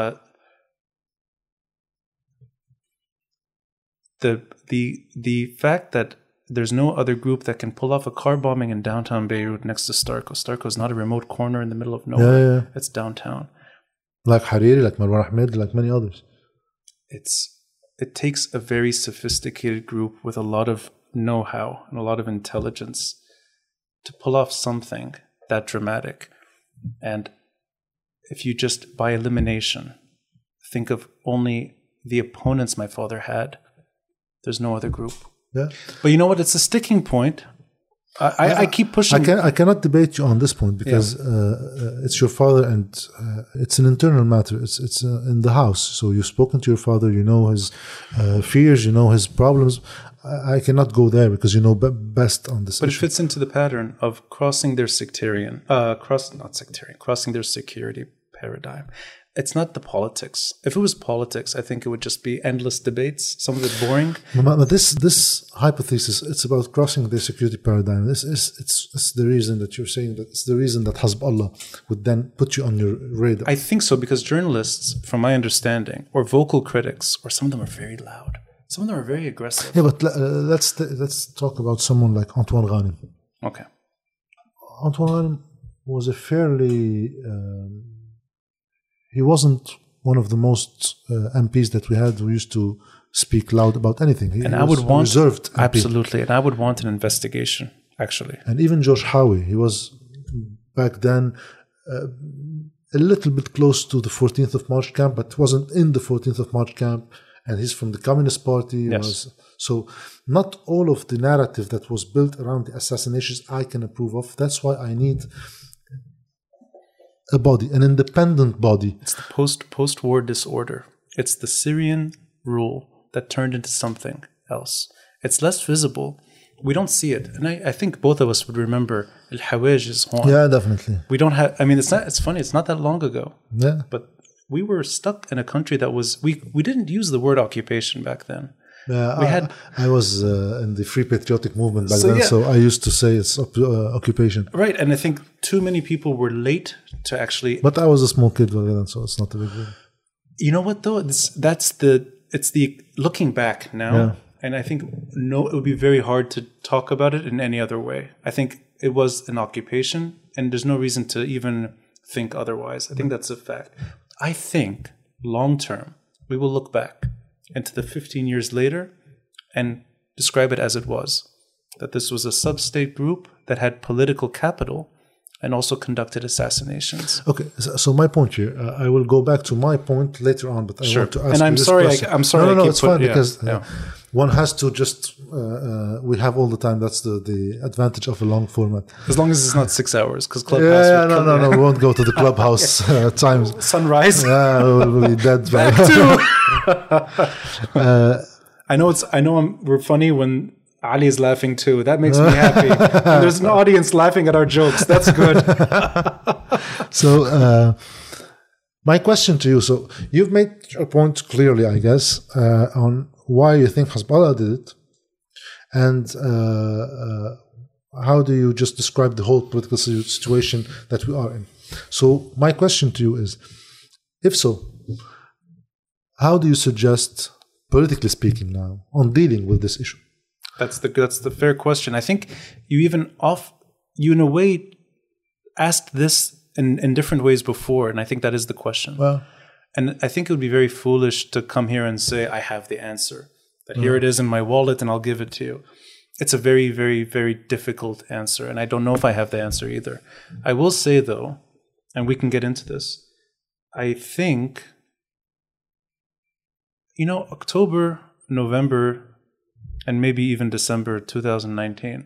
The fact that there's no other group that can pull off a car bombing in downtown Beirut next to Starko. Starko is not a remote corner in the middle of nowhere. Yeah. It's downtown. Like Hariri, like Marwan Ahmed, like many others. It takes a very sophisticated group with a lot of know-how and a lot of intelligence to pull off something that dramatic. And if you just, by elimination, think of only the opponents my father had, there's no other group. Yeah. But you know what? It's a sticking point. I keep pushing. I cannot debate you on this point because it's your father and it's an internal matter. It's in the house. So you've spoken to your father. You know his fears. You know his problems. I cannot go there because you know best on this. But issue. It fits into the pattern of crossing their crossing their security paradigm. It's not the politics. If it was politics, I think it would just be endless debates. Some of it boring. But this hypothesis, it's about crossing the security paradigm. It's the reason that you're saying that it's the reason that Hezbollah would then put you on your radar. I think so because journalists, from my understanding, or vocal critics, or some of them are very loud. Some of them are very aggressive. Yeah, but let's talk about someone like Antoine Ghanem. Okay. Antoine Ghanem was a fairly... he wasn't one of the most MPs that we had who used to speak loud about anything. He was reserved MP. Absolutely, and I would want an investigation, actually. And even George Howie, he was back then a little bit close to the 14th of March camp, but wasn't in the 14th of March camp, and he's from the Communist Party. Yes. So not all of the narrative that was built around the assassinations I can approve of. That's why I need... a body, an independent body. It's the post-war disorder. It's the Syrian rule that turned into something else. It's less visible. We don't see it. And I think both of us would remember Al-Hawaj's horn. Yeah, definitely. We don't have, I mean, it's funny. It's not that long ago. Yeah. But we were stuck in a country that was, we didn't use the word occupation back then. I was in the Free Patriotic Movement back then, so I used to say it's occupation. Right, and I think too many people were late to actually... But I was a small kid back then, so it's not a big deal. You know what, though? It's the looking back now, and I think it would be very hard to talk about it in any other way. I think it was an occupation, and there's no reason to even think otherwise. I think that's a fact. I think, long term, we will look back into the 15 years later and describe it as it was. That this was a sub-state group that had political capital and also conducted assassinations. Okay, so my point here, I will go back to my point later on, but I want to ask I'm you sorry, question. I'm sorry. No, it's fine because one has to just, we have all the time. That's the advantage of a long format. As long as it's not 6 hours, because Clubhouse... No, we won't go to the Clubhouse times. Sunrise? Yeah, we'll be dead. Back to... I know we're funny when Ali is laughing too. That makes me happy. And there's an audience laughing at our jokes. That's good. So, my question to you. So, you've made a point clearly, I guess, on why you think Hezbollah did it, and how do you just describe the whole political situation that we are in? So, my question to you is, if so, how do you suggest, politically speaking, now on dealing with this issue? That's the fair question. I think you in a way asked this in different ways before, and I think that is the question. Well, and I think it would be very foolish to come here and say I have the answer. That here it is in my wallet, and I'll give it to you. It's a very, very, very difficult answer, and I don't know if I have the answer either. I will say though, and we can get into this. I think, October, November, and maybe even December 2019.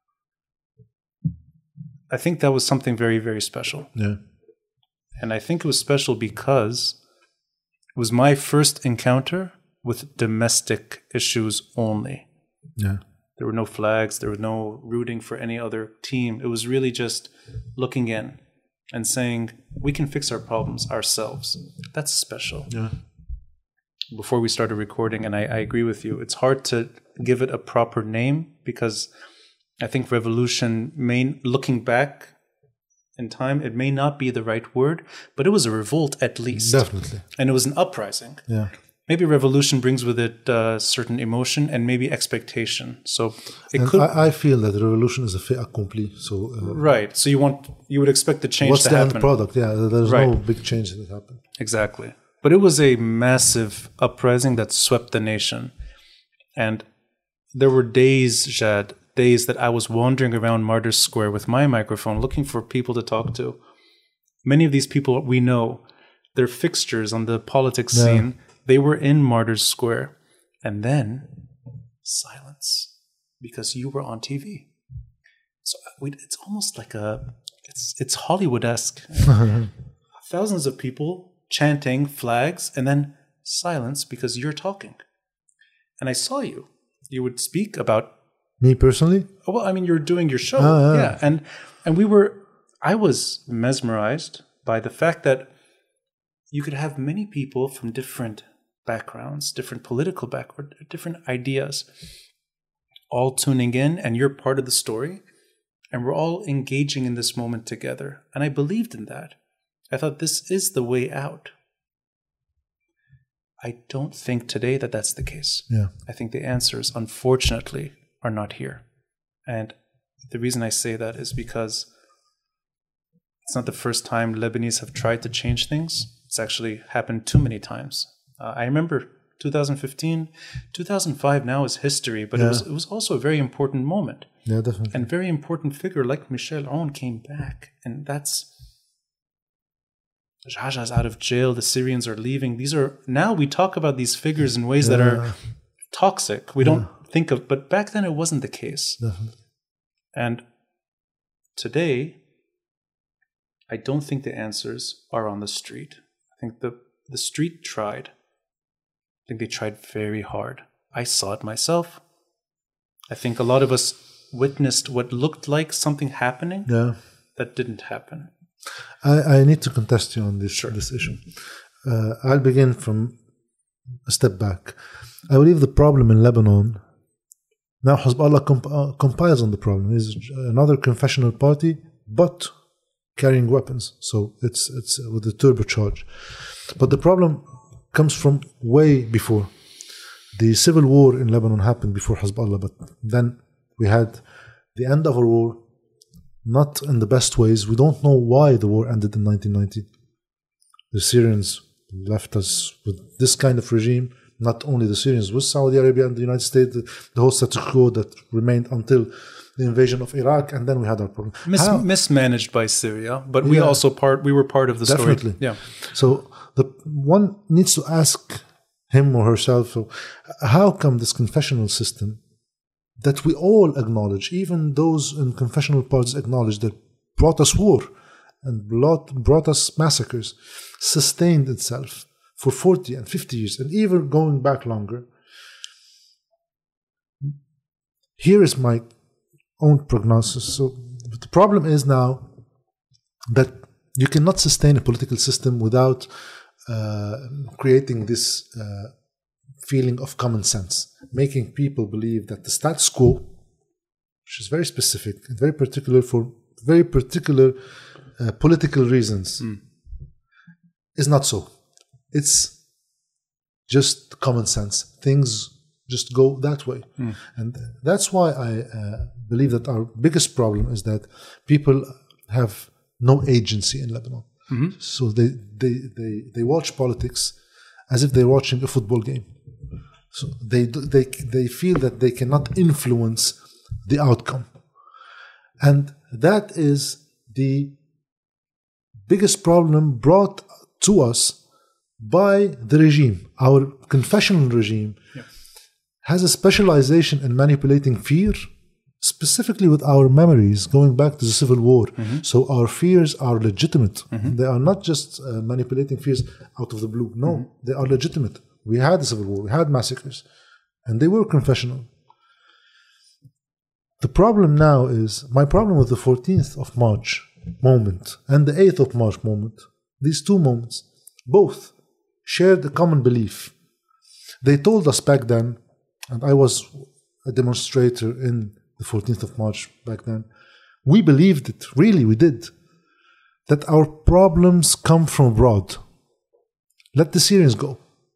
I think that was something very, very special. Yeah. And I think it was special because it was my first encounter with domestic issues only. Yeah. There were no flags. There was no rooting for any other team. It was really just looking in and saying, we can fix our problems ourselves. That's special. Yeah. Before we started recording, and I agree with you, it's hard to give it a proper name because I think revolution, looking back in time, it may not be the right word, but it was a revolt at least. Definitely. And it was an uprising. Yeah. Maybe revolution brings with it certain emotion and maybe expectation. So I feel that the revolution is a fait accompli. So right. So you would expect the change to happen. What's the end product? Yeah, there's no big change that happened. Exactly. But it was a massive uprising that swept the nation. And there were days that I was wandering around Martyrs Square with my microphone looking for people to talk to. Many of these people we know, they're fixtures on the politics scene. They were in Martyrs Square. And then silence because you were on TV. So it's almost like it's Hollywood-esque. Thousands of people chanting flags, and then silence because you're talking. And I saw you. You would speak about... Me personally? Well, I mean, you're doing your show. Yeah. And I was mesmerized by the fact that you could have many people from different backgrounds, different political backgrounds, different ideas, all tuning in, and you're part of the story. And we're all engaging in this moment together. And I believed in that. I thought this is the way out. I don't think today that that's the case. Yeah. I think the answers, unfortunately, are not here. And the reason I say that is because it's not the first time Lebanese have tried to change things. It's actually happened too many times. I remember 2015, 2005 now is history, but it was also a very important moment. Yeah, definitely. And very important figure like Michel Aoun came back. And that's... Jaja's out of jail. The Syrians are leaving. Now we talk about these figures in ways that are toxic. We don't think of, but back then it wasn't the case. Definitely. And today, I don't think the answers are on the street. I think the street tried. I think they tried very hard. I saw it myself. I think a lot of us witnessed what looked like something happening that didn't happen. I need to contest you on this issue. I'll begin from a step back. I believe the problem in Lebanon, now Hezbollah compiles on the problem, is another confessional party, but carrying weapons. So it's with the turbocharge. But the problem comes from way before. The civil war in Lebanon happened before Hezbollah, but then we had the end of a war, not in the best ways. We don't know why the war ended in 1990. The Syrians left us with this kind of regime. Not only the Syrians, with Saudi Arabia and the United States, the whole status quo that remained until the invasion of Iraq, and then we had our problem. Mismanaged by Syria, but we also we were part of the story. Definitely. Yeah. So one needs to ask him or herself, how come this confessional system that we all acknowledge, even those in confessional parties acknowledge, that brought us war and brought us massacres, sustained itself for 40 and 50 years, and even going back longer. Here is my own prognosis. So the problem is now that you cannot sustain a political system without creating this feeling of common sense, making people believe that the status quo, which is very specific and very particular for very particular political reasons, is not so. It's just common sense. Things just go that way. And that's why I believe that our biggest problem is that people have no agency in Lebanon. So they watch politics as if they're watching a football game. So they feel that they cannot influence the outcome. And that is the biggest problem brought to us by the regime. Our confessional regime has a specialization in manipulating fear, specifically with our memories going back to the Civil War. So our fears are legitimate. They are not just manipulating fears out of the blue. No, they are legitimate. We had the Civil War, we had massacres, and they were confessional. The problem now is, my problem with the 14th of March moment and the 8th of March moment, these two moments, both shared a common belief. They told us back then, and I was a demonstrator in the 14th of March back then, we believed it, really we did, that our problems come from abroad. Let the Syrians go.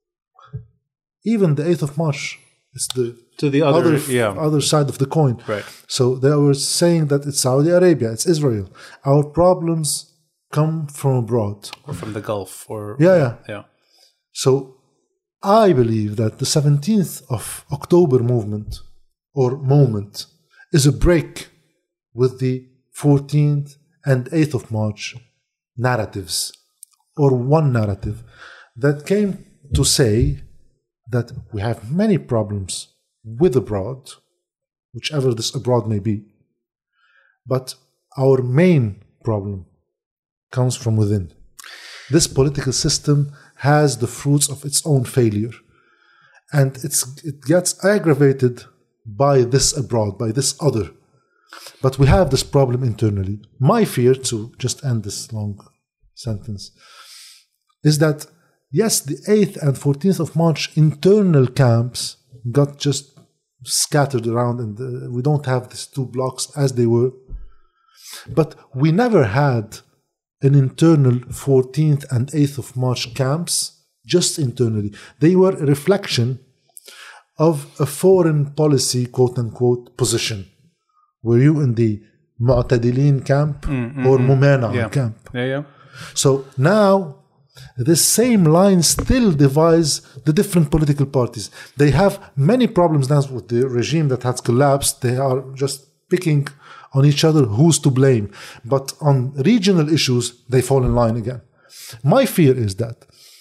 Even the 8th of March is the other side of the coin. Right. So they were saying that it's Saudi Arabia, it's Israel. Our problems come from abroad. Or from the Gulf. Yeah. So I believe that the 17th of October movement or moment is a break with the 14th and 8th of March narratives, or one narrative that came to say that we have many problems with abroad, whichever this abroad may be, but our main problem comes from within. This political system has the fruits of its own failure, and it gets aggravated by this abroad, by this other. But we have this problem internally. My fear, to just end this long sentence, is that yes, the 8th and 14th of March internal camps got just scattered around, and we don't have these two blocks as they were. But we never had an internal 14th and 8th of March camps, just internally. They were a reflection of a foreign policy, quote-unquote, position. Were you in the Mu'tadilin camp or Mumana camp? So now, this same line still divides the different political parties. They have many problems now with the regime that has collapsed. They are just picking on each other who's to blame. But on regional issues, they fall in line again. My fear is that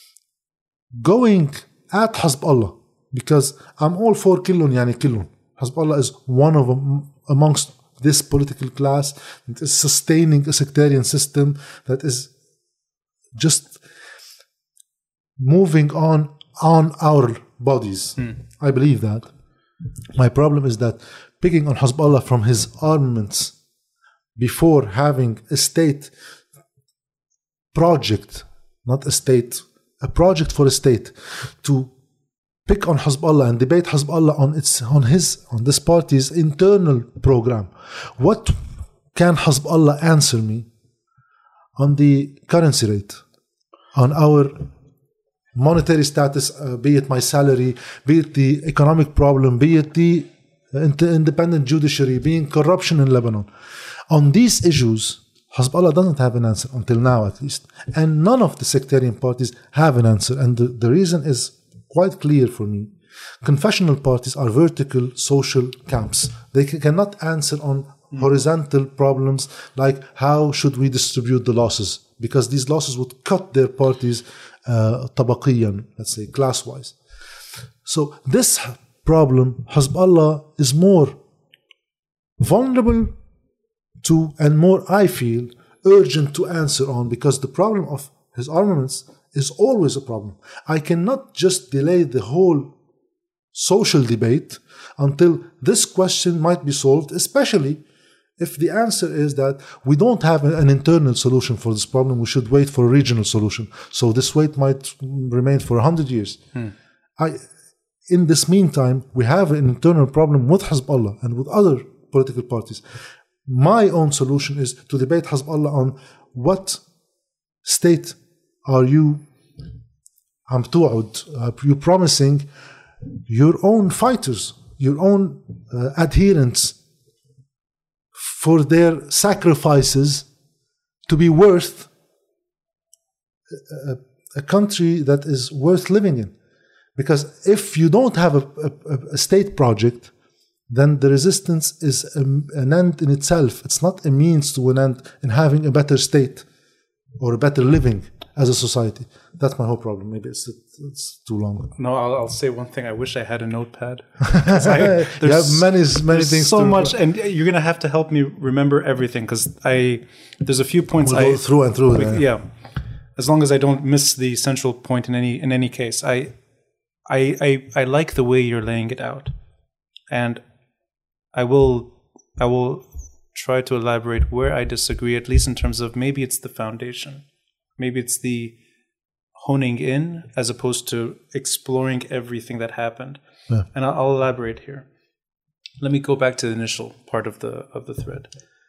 going at Hezbollah, because I'm all for Killun Yani Killun. Hezbollah is one of them amongst this political class that is sustaining a sectarian system that is just moving on our bodies. I believe that. My problem is that picking on Hezbollah from his armaments before having a state project, not a state, a project for a state to pick on Hezbollah and debate Hezbollah on this party's internal program, what can Hezbollah answer me on the currency rate, on our monetary status, be it my salary, be it the economic problem, be it the independent judiciary, being corruption in Lebanon. On these issues, Hezbollah doesn't have an answer, until now at least. And none of the sectarian parties have an answer. And the reason is quite clear for me. Confessional parties are vertical social camps. They cannot answer on horizontal problems like how should we distribute the losses, because these losses would cut their parties tabaqiyan, let's say class-wise. So this problem, Hezbollah is more vulnerable to and more, I feel, urgent to answer on, because the problem of his armaments is always a problem. I cannot just delay the whole social debate until this question might be solved, especially if the answer is that we don't have an internal solution for this problem, we should wait for a regional solution. So this wait might remain for 100 years. In this meantime, we have an internal problem with Hezbollah and with other political parties. My own solution is to debate Hezbollah on what state are you promising your own fighters, your own adherents, for their sacrifices to be worth a country that is worth living in. Because if you don't have a state project, then the resistance is an end in itself. It's not a means to an end in having a better state or a better living as a society. That's my whole problem. Maybe it's too long. No, I'll say one thing. I wish I had a notepad. You have many things. So much, and you're gonna have to help me remember everything, because there's a few points we'll go through and through. Yeah, as long as I don't miss the central point in any case. I like the way you're laying it out, and I will try to elaborate where I disagree, at least in terms of maybe it's the foundation. Maybe it's the honing in as opposed to exploring everything that happened. Yeah. And I'll elaborate here. Let me go back to the initial part of the thread.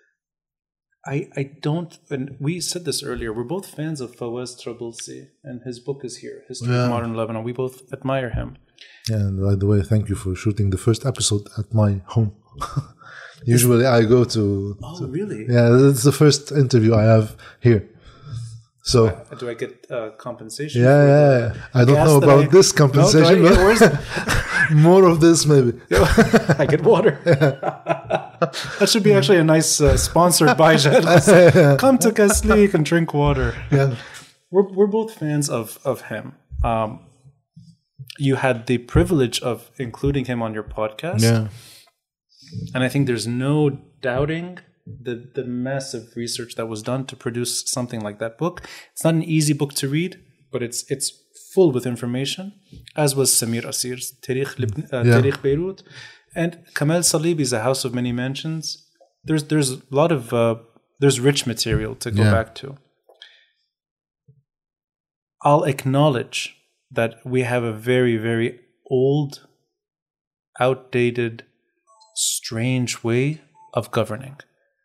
I don't, and we said this earlier, we're both fans of Fawaz Trabulsi, and his book is here, History of Modern Lebanon. We both admire him. Yeah, and by the way, thank you for shooting the first episode at my home. Usually I go to... Oh, really? Yeah, it's the first interview I have here. So do I get compensation? Yeah. I don't know about this compensation. No, where's more of this, maybe. I get water. That should be actually a nice sponsored by Jad. Come to Kaslik and drink water. Yeah, we're both fans of him. You had the privilege of including him on your podcast. Yeah, and I think there's no doubting the massive research that was done to produce something like that book. It's not an easy book to read, but it's full with information, as was Samir Asir's Tarikh Beirut, and Kamal Salibi's A House of Many Mansions. There's a lot of there's rich material to go back to. I'll acknowledge that we have a very, very old, outdated, strange way of governing.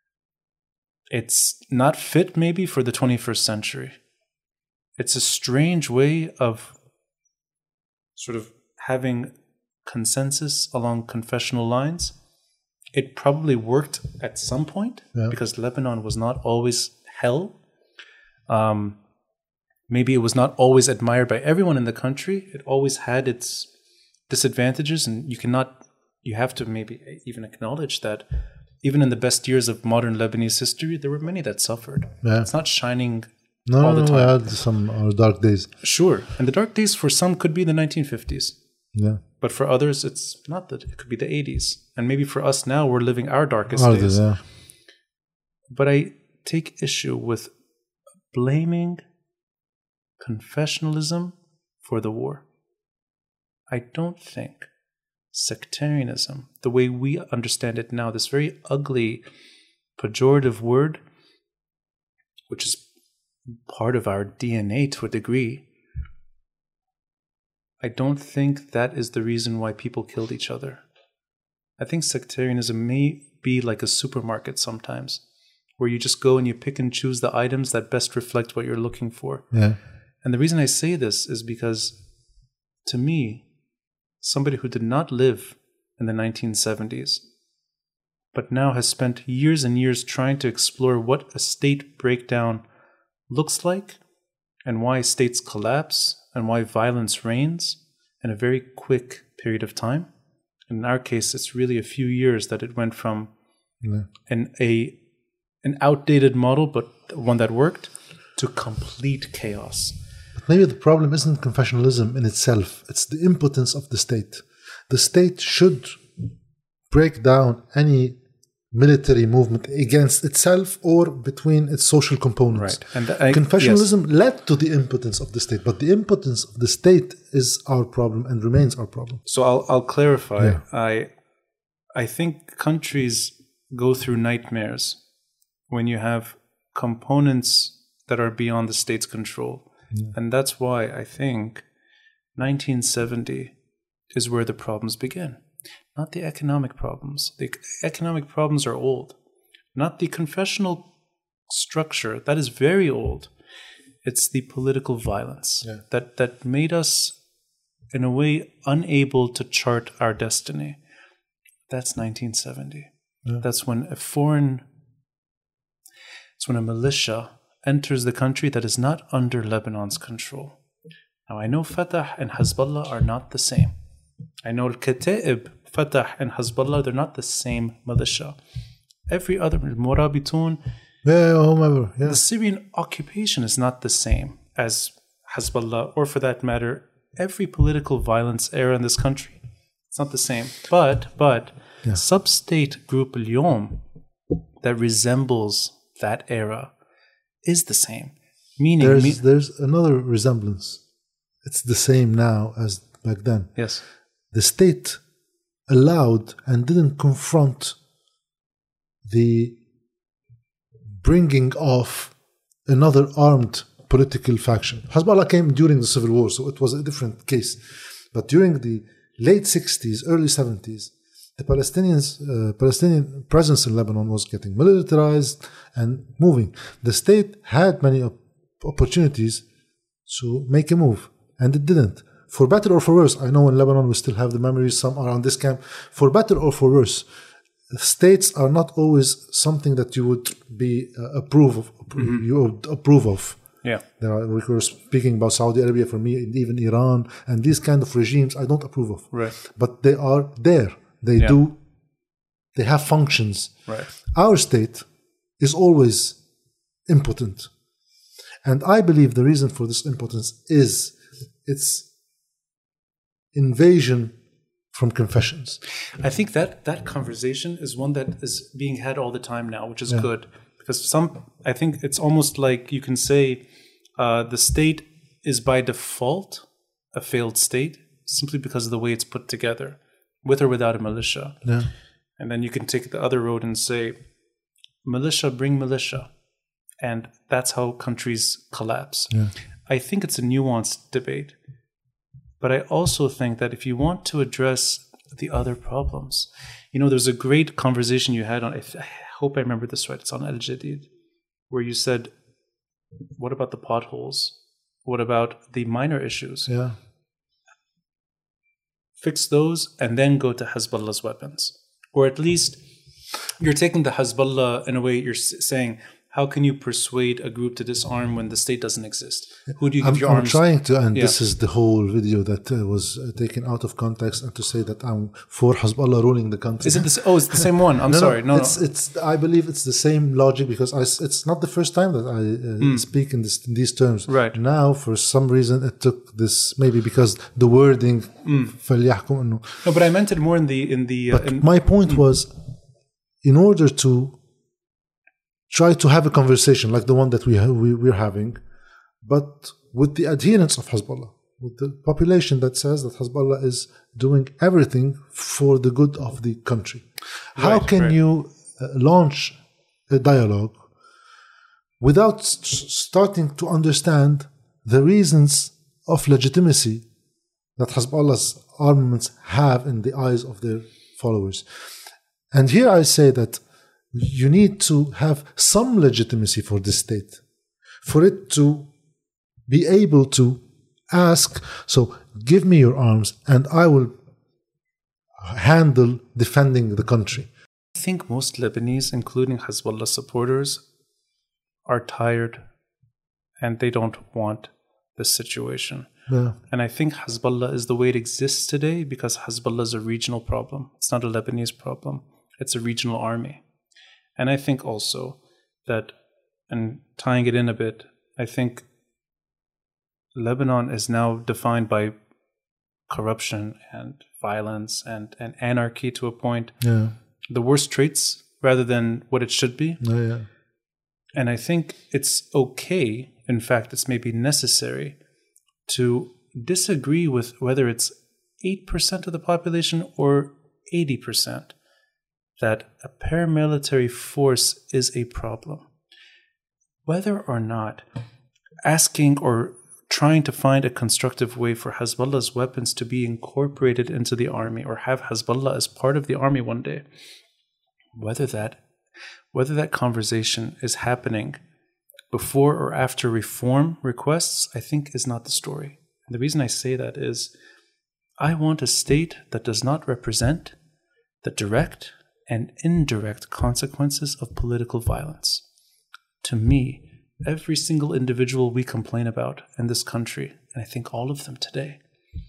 It's not fit maybe for the 21st century. It's a strange way of sort of having consensus along confessional lines. It probably worked at some point because Lebanon was not always hell. Maybe it was not always admired by everyone in the country. It always had its disadvantages, and you have to maybe even acknowledge that even in the best years of modern Lebanese history, there were many that suffered. Yeah. It's not shining all the time. We had some dark days. Sure. And the dark days for some could be the 1950s. Yeah. But for others, it's not that. It could be the 80s. And maybe for us now, we're living our darkest days. Yeah. But I take issue with blaming confessionalism for the war. I don't think sectarianism, the way we understand it now, this very ugly, pejorative word, which is part of our DNA to a degree, I don't think that is the reason why people killed each other. I think sectarianism may be like a supermarket sometimes, where you just go and you pick and choose the items that best reflect what you're looking for. Yeah. And the reason I say this is because, to me, somebody who did not live in the 1970s, but now has spent years and years trying to explore what a state breakdown looks like and why states collapse and why violence reigns in a very quick period of time. In our case, it's really a few years that it went from an outdated model, but one that worked, to complete chaos. But maybe the problem isn't confessionalism in itself. It's the impotence of the state. The state should break down any military movement against itself or between its social components. Right. And confessionalism led to the impotence of the state, but the impotence of the state is our problem and remains our problem. So I'll clarify. Yeah. I think countries go through nightmares when you have components that are beyond the state's control. Yeah. And that's why I think 1970 is where the problems begin. Not the economic problems. The economic problems are old. Not the confessional structure. That is very old. It's the political violence that made us, in a way, unable to chart our destiny. That's 1970. Yeah. That's when a militia enters the country that is not under Lebanon's control. Now, I know Fatah and Hezbollah are not the same. I know Al-Kata'ib, Fatah and Hezbollah, they're not the same militia. Every other, Murabitun, whomever. Yeah. The Syrian occupation is not the same as Hezbollah, or for that matter, every political violence era in this country. It's not the same. But sub-state group Al-Yom that resembles that era is the same. Meaning there's another resemblance. It's the same now as back then. Yes. The state allowed and didn't confront the bringing of another armed political faction. Hezbollah came during the civil war, so it was a different case. But during the late 60s, early 70s, the Palestinian presence in Lebanon was getting militarized and moving. The state had many opportunities to make a move, and it didn't. For better or for worse, I know in Lebanon we still have the memories, some are on this camp. For better or for worse, states are not always something that you would be approve of. Yeah. We were speaking about Saudi Arabia, for me, even Iran, and these kind of regimes I don't approve of. Right. But they are there. They have functions. Right. Our state is always impotent. And I believe the reason for this impotence is its invasion from confessions. I think that conversation is one that is being had all the time now, which is good. Because I think it's almost like you can say the state is by default a failed state simply because of the way it's put together, with or without a militia. Yeah. And then you can take the other road and say, militia bring militia. And that's how countries collapse. Yeah. I think it's a nuanced debate. But I also think that if you want to address the other problems, there's a great conversation you had on, I hope I remember this right, it's on Al Jadid, where you said, what about the potholes? What about the minor issues? Yeah. Fix those and then go to Hezbollah's weapons. Or at least you're taking the Hezbollah, in a way, you're saying, how can you persuade a group to disarm when the state doesn't exist? Who do you give your arms? I'm trying to, and this is the whole video that was taken out of context, and to say that I'm for Hezbollah ruling the country. Is it it's the same one? I'm sorry. No. I believe it's the same logic, because it's not the first time that I speak in these terms. Right. Now, for some reason, it took this, maybe because the wording. No, but I meant it more in the. My point was, in order to try to have a conversation like the one that we're having, but with the adherents of Hezbollah, with the population that says that Hezbollah is doing everything for the good of the country. How can you launch a dialogue without starting to understand the reasons of legitimacy that Hezbollah's armaments have in the eyes of their followers. And here I say that you need to have some legitimacy for this state, for it to be able to ask, so give me your arms and I will handle defending the country. I think most Lebanese, including Hezbollah supporters, are tired and they don't want this situation. Yeah. And I think Hezbollah is the way it exists today because Hezbollah is a regional problem. It's not a Lebanese problem. It's a regional army. And I think also that, and tying it in a bit, I think Lebanon is now defined by corruption and violence and anarchy to a point. Yeah. The worst traits rather than what it should be. Yeah. And I think it's okay, in fact, it's maybe necessary to disagree with whether it's 8% of the population or 80%, that a paramilitary force is a problem. Whether or not asking or trying to find a constructive way for Hezbollah's weapons to be incorporated into the army or have Hezbollah as part of the army one day, whether that conversation is happening before or after reform requests, I think is not the story. And the reason I say that is I want a state that does not represent the direct and indirect consequences of political violence. To me, every single individual we complain about in this country, and I think all of them today,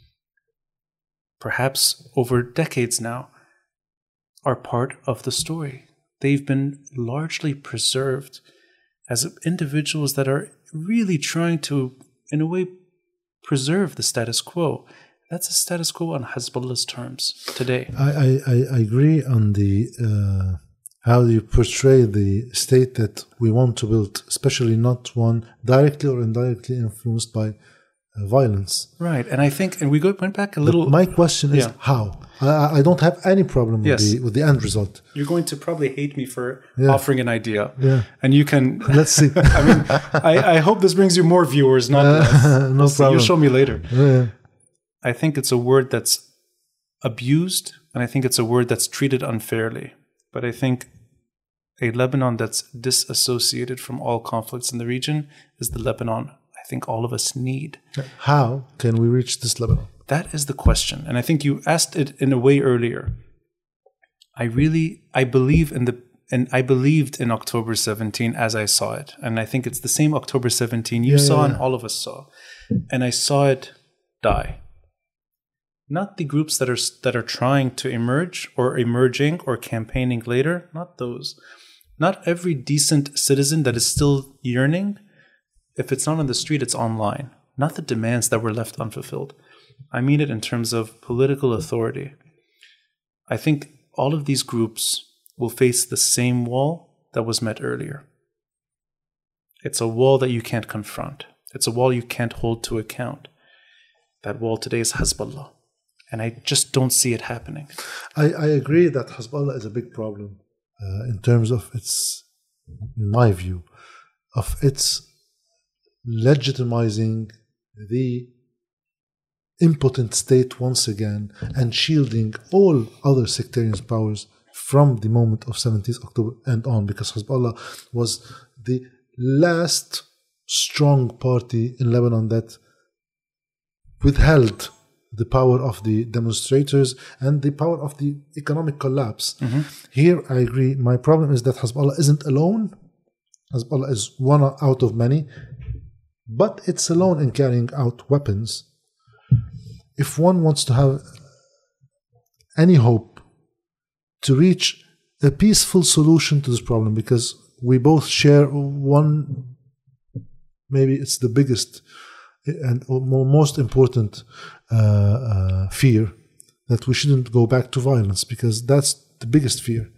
perhaps over decades now, are part of the story. They've been largely preserved as individuals that are really trying to, in a way, preserve the status quo. That's a status quo on Hezbollah's terms today. I agree on the how you portray the state that we want to build, especially not one directly or indirectly influenced by violence. Right, and I think, and we went back a little. But my question is how? I don't have any problem with the end result. You're going to probably hate me for offering an idea. Yeah. And you can... Let's see. I mean, I hope this brings you more viewers, not less. No problem. You'll show me later. Yeah. I think it's a word that's abused, and I think it's a word that's treated unfairly. But I think a Lebanon that's disassociated from all conflicts in the region is the Lebanon I think all of us need. How can we reach this Lebanon? That is the question. And I think you asked it in a way earlier. I believed in October 17 as I saw it. And I think it's the same October 17 you saw and all of us saw. And I saw it die. Not the groups that are trying to emerge or emerging or campaigning later, not those. Not every decent citizen that is still yearning. If it's not on the street, it's online. Not the demands that were left unfulfilled. I mean it in terms of political authority. I think all of these groups will face the same wall that was met earlier. It's a wall that you can't confront. It's a wall you can't hold to account. That wall today is Hezbollah. And I just don't see it happening. I agree that Hezbollah is a big problem in terms of its, in my view, of its legitimizing the impotent state once again and shielding all other sectarian powers from the moment of 17th October and on, because Hezbollah was the last strong party in Lebanon that withheld the power of the demonstrators and the power of the economic collapse. Mm-hmm. Here, I agree. My problem is that Hezbollah isn't alone. Hezbollah is one out of many, but it's alone in carrying out weapons. If one wants to have any hope to reach a peaceful solution to this problem, because we both share one, maybe it's the biggest and most important fear, that we shouldn't go back to violence, because that's the biggest fear.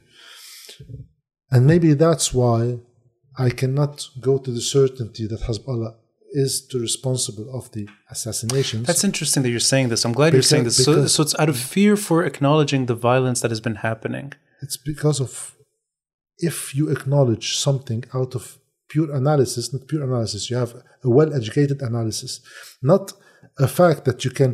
And maybe that's why I cannot go to the certainty that Hezbollah is the responsible of the assassinations. That's interesting that you're saying this. I'm glad you're saying this. So it's out of fear for acknowledging the violence that has been happening. It's because of, if you acknowledge something out of pure analysis, not pure analysis, you have a well-educated analysis, not a fact that you can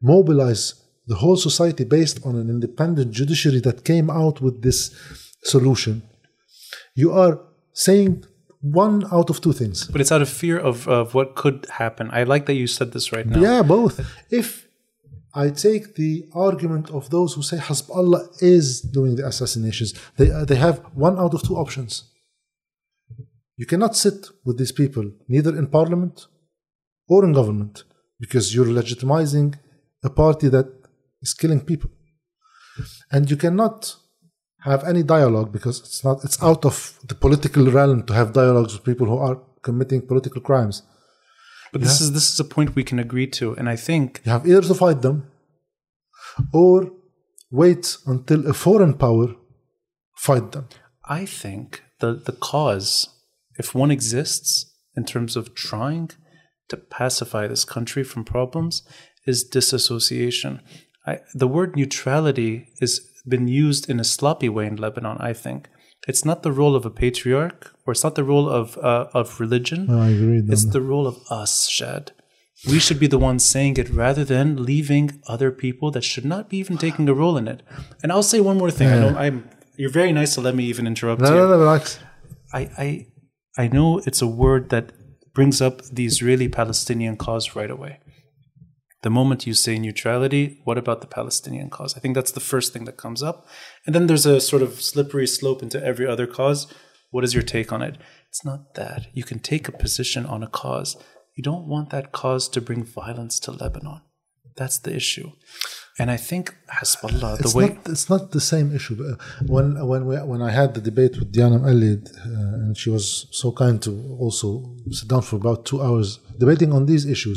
mobilize the whole society based on an independent judiciary that came out with this solution, you are saying one out of two things. But it's out of fear of what could happen. I like that you said this right now. Yeah, both. If I take the argument of those who say Hezbollah is doing the assassinations, they have one out of two options. You cannot sit with these people, neither in parliament or in government, because you're legitimizing a party that is killing people. And you cannot have any dialogue because it's out of the political realm to have dialogues with people who are committing political crimes. But this is a point we can agree to, and I think you have either to fight them or wait until a foreign power fight them. I think the cause, if one exists in terms of trying to pacify this country from problems, is disassociation. The word neutrality has been used in a sloppy way in Lebanon, I think. It's not the role of a patriarch, or it's not the role of religion. I agree. It's the role of us, Shad. We should be the ones saying it rather than leaving other people that should not be even taking a role in it. And I'll say one more thing. I know you're very nice to let me even interrupt you. No, relax. I know it's a word that brings up the Israeli-Palestinian cause right away. The moment you say neutrality, what about the Palestinian cause? I think that's the first thing that comes up. And then there's a sort of slippery slope into every other cause. What is your take on it? It's not that. You can take a position on a cause. You don't want that cause to bring violence to Lebanon. That's the issue. And I think Hezbollah, it's not the same issue. When I had the debate with Diana Mqalled, and she was so kind to also sit down for about 2 hours debating on these issues.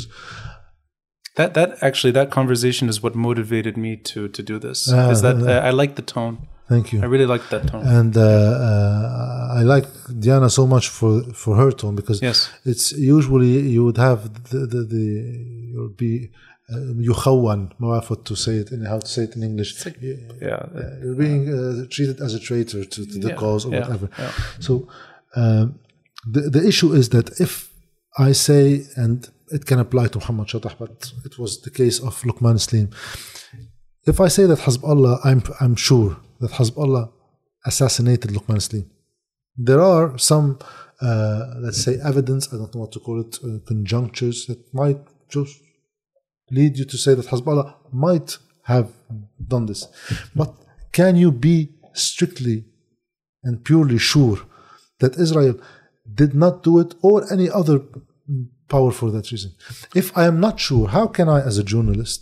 That conversation is what motivated me to do this. I like the tone. Thank you. I really like that tone. And I like Diana so much for her tone, because it's usually you would have you would be يخون ما بعرف to say it in how to say it in English. You're being treated as a traitor to the cause or whatever. So the issue is that if I say, and it can apply to Muhammad Shatah, but it was the case of Luqman Slim. If I say that Hezbollah, I'm sure that Hezbollah assassinated Luqman Slim. There are some, let's say, evidence, I don't know what to call it, conjunctures that might just lead you to say that Hezbollah might have done this. But can you be strictly and purely sure that Israel did not do it, or any other power for that reason? If I am not sure, how can I, as a journalist,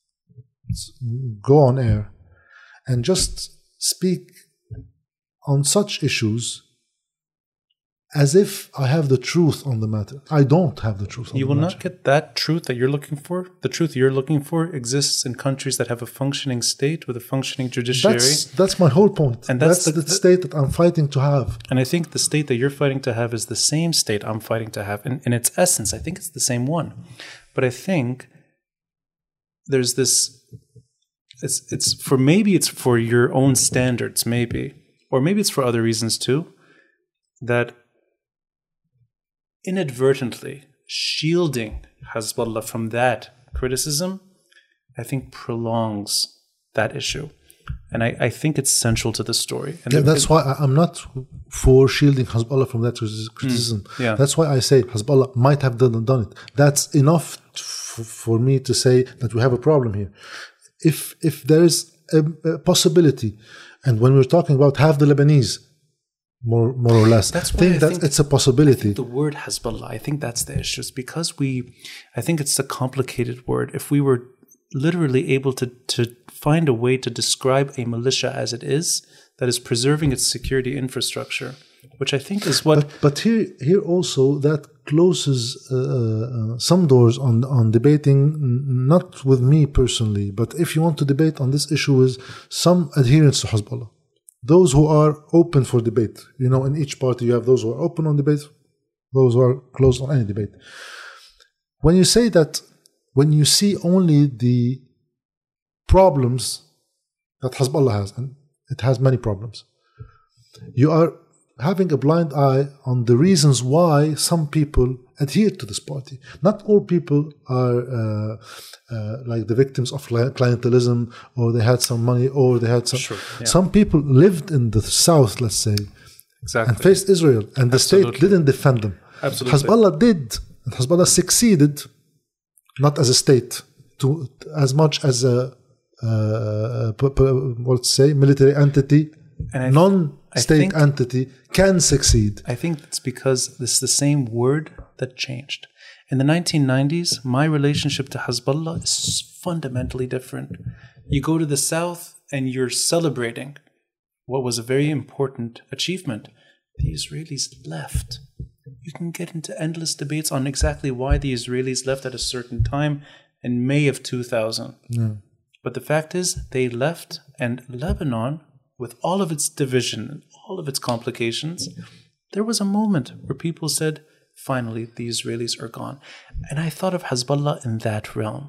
go on air and just speak on such issues as if I have the truth on the matter? I don't have the truth on the matter. You will not get that truth that you're looking for. The truth you're looking for exists in countries that have a functioning state with a functioning judiciary. That's my whole point. And that's the state that I'm fighting to have. And I think the state that you're fighting to have is the same state I'm fighting to have. In its essence, I think it's the same one. But I think there's this... It's for your own standards, maybe. Or maybe it's for other reasons too. That inadvertently shielding Hezbollah from that criticism, I think prolongs that issue. And I think it's central to the story. And that's why I'm not for shielding Hezbollah from that criticism. That's why I say Hezbollah might have done it. That's enough for me to say that we have a problem here. If there is a possibility, and when we're talking about half the Lebanese, more or less, that's why I think it's a possibility. The word Hezbollah, I think that's the issue. It's because I think it's a complicated word. If we were literally able to find a way to describe a militia as it is, that is preserving its security infrastructure, which I think is what... But here also, that closes some doors on debating, not with me personally, but if you want to debate on this issue with some adherents to Hezbollah, those who are open for debate. You know, in each party you have those who are open on debate, those who are closed on any debate. When you say that, when you see only the problems that Hezbollah has, and it has many problems, you are having a blind eye on the reasons why some people adhere to this party. Not all people are like the victims of clientelism, or they had some money, or they had some. Sure, yeah. Some people lived in the south, let's say, and faced Israel, and the state didn't defend them. Absolutely. Hezbollah did. And Hezbollah succeeded, not as a state, as much as a let's say military entity, non-state entity can succeed. I think it's because this is the same word that changed. In the 1990s, my relationship to Hezbollah is fundamentally different. You go to the south and you're celebrating what was a very important achievement. The Israelis left. You can get into endless debates on exactly why the Israelis left at a certain time in May of 2000. Yeah. But the fact is, they left, and Lebanon, with all of its division and all of its complications, there was a moment where people said, finally, the Israelis are gone. And I thought of Hezbollah in that realm.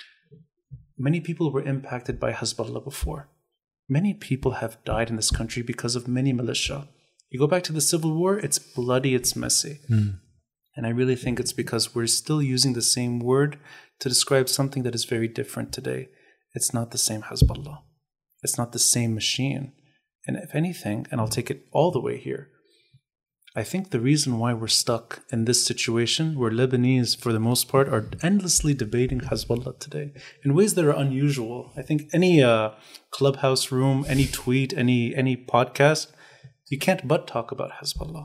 Many people were impacted by Hezbollah before. Many people have died in this country because of many militia. You go back to the Civil War, it's bloody, it's messy. And I really think it's because we're still using the same word to describe something that is very different today. It's not the same Hezbollah. It's not the same machine. And if anything, and I'll take it all the way here, I think the reason why we're stuck in this situation where Lebanese, for the most part, are endlessly debating Hezbollah today in ways that are unusual. I think any clubhouse room, any tweet, any podcast, you can't but talk about Hezbollah.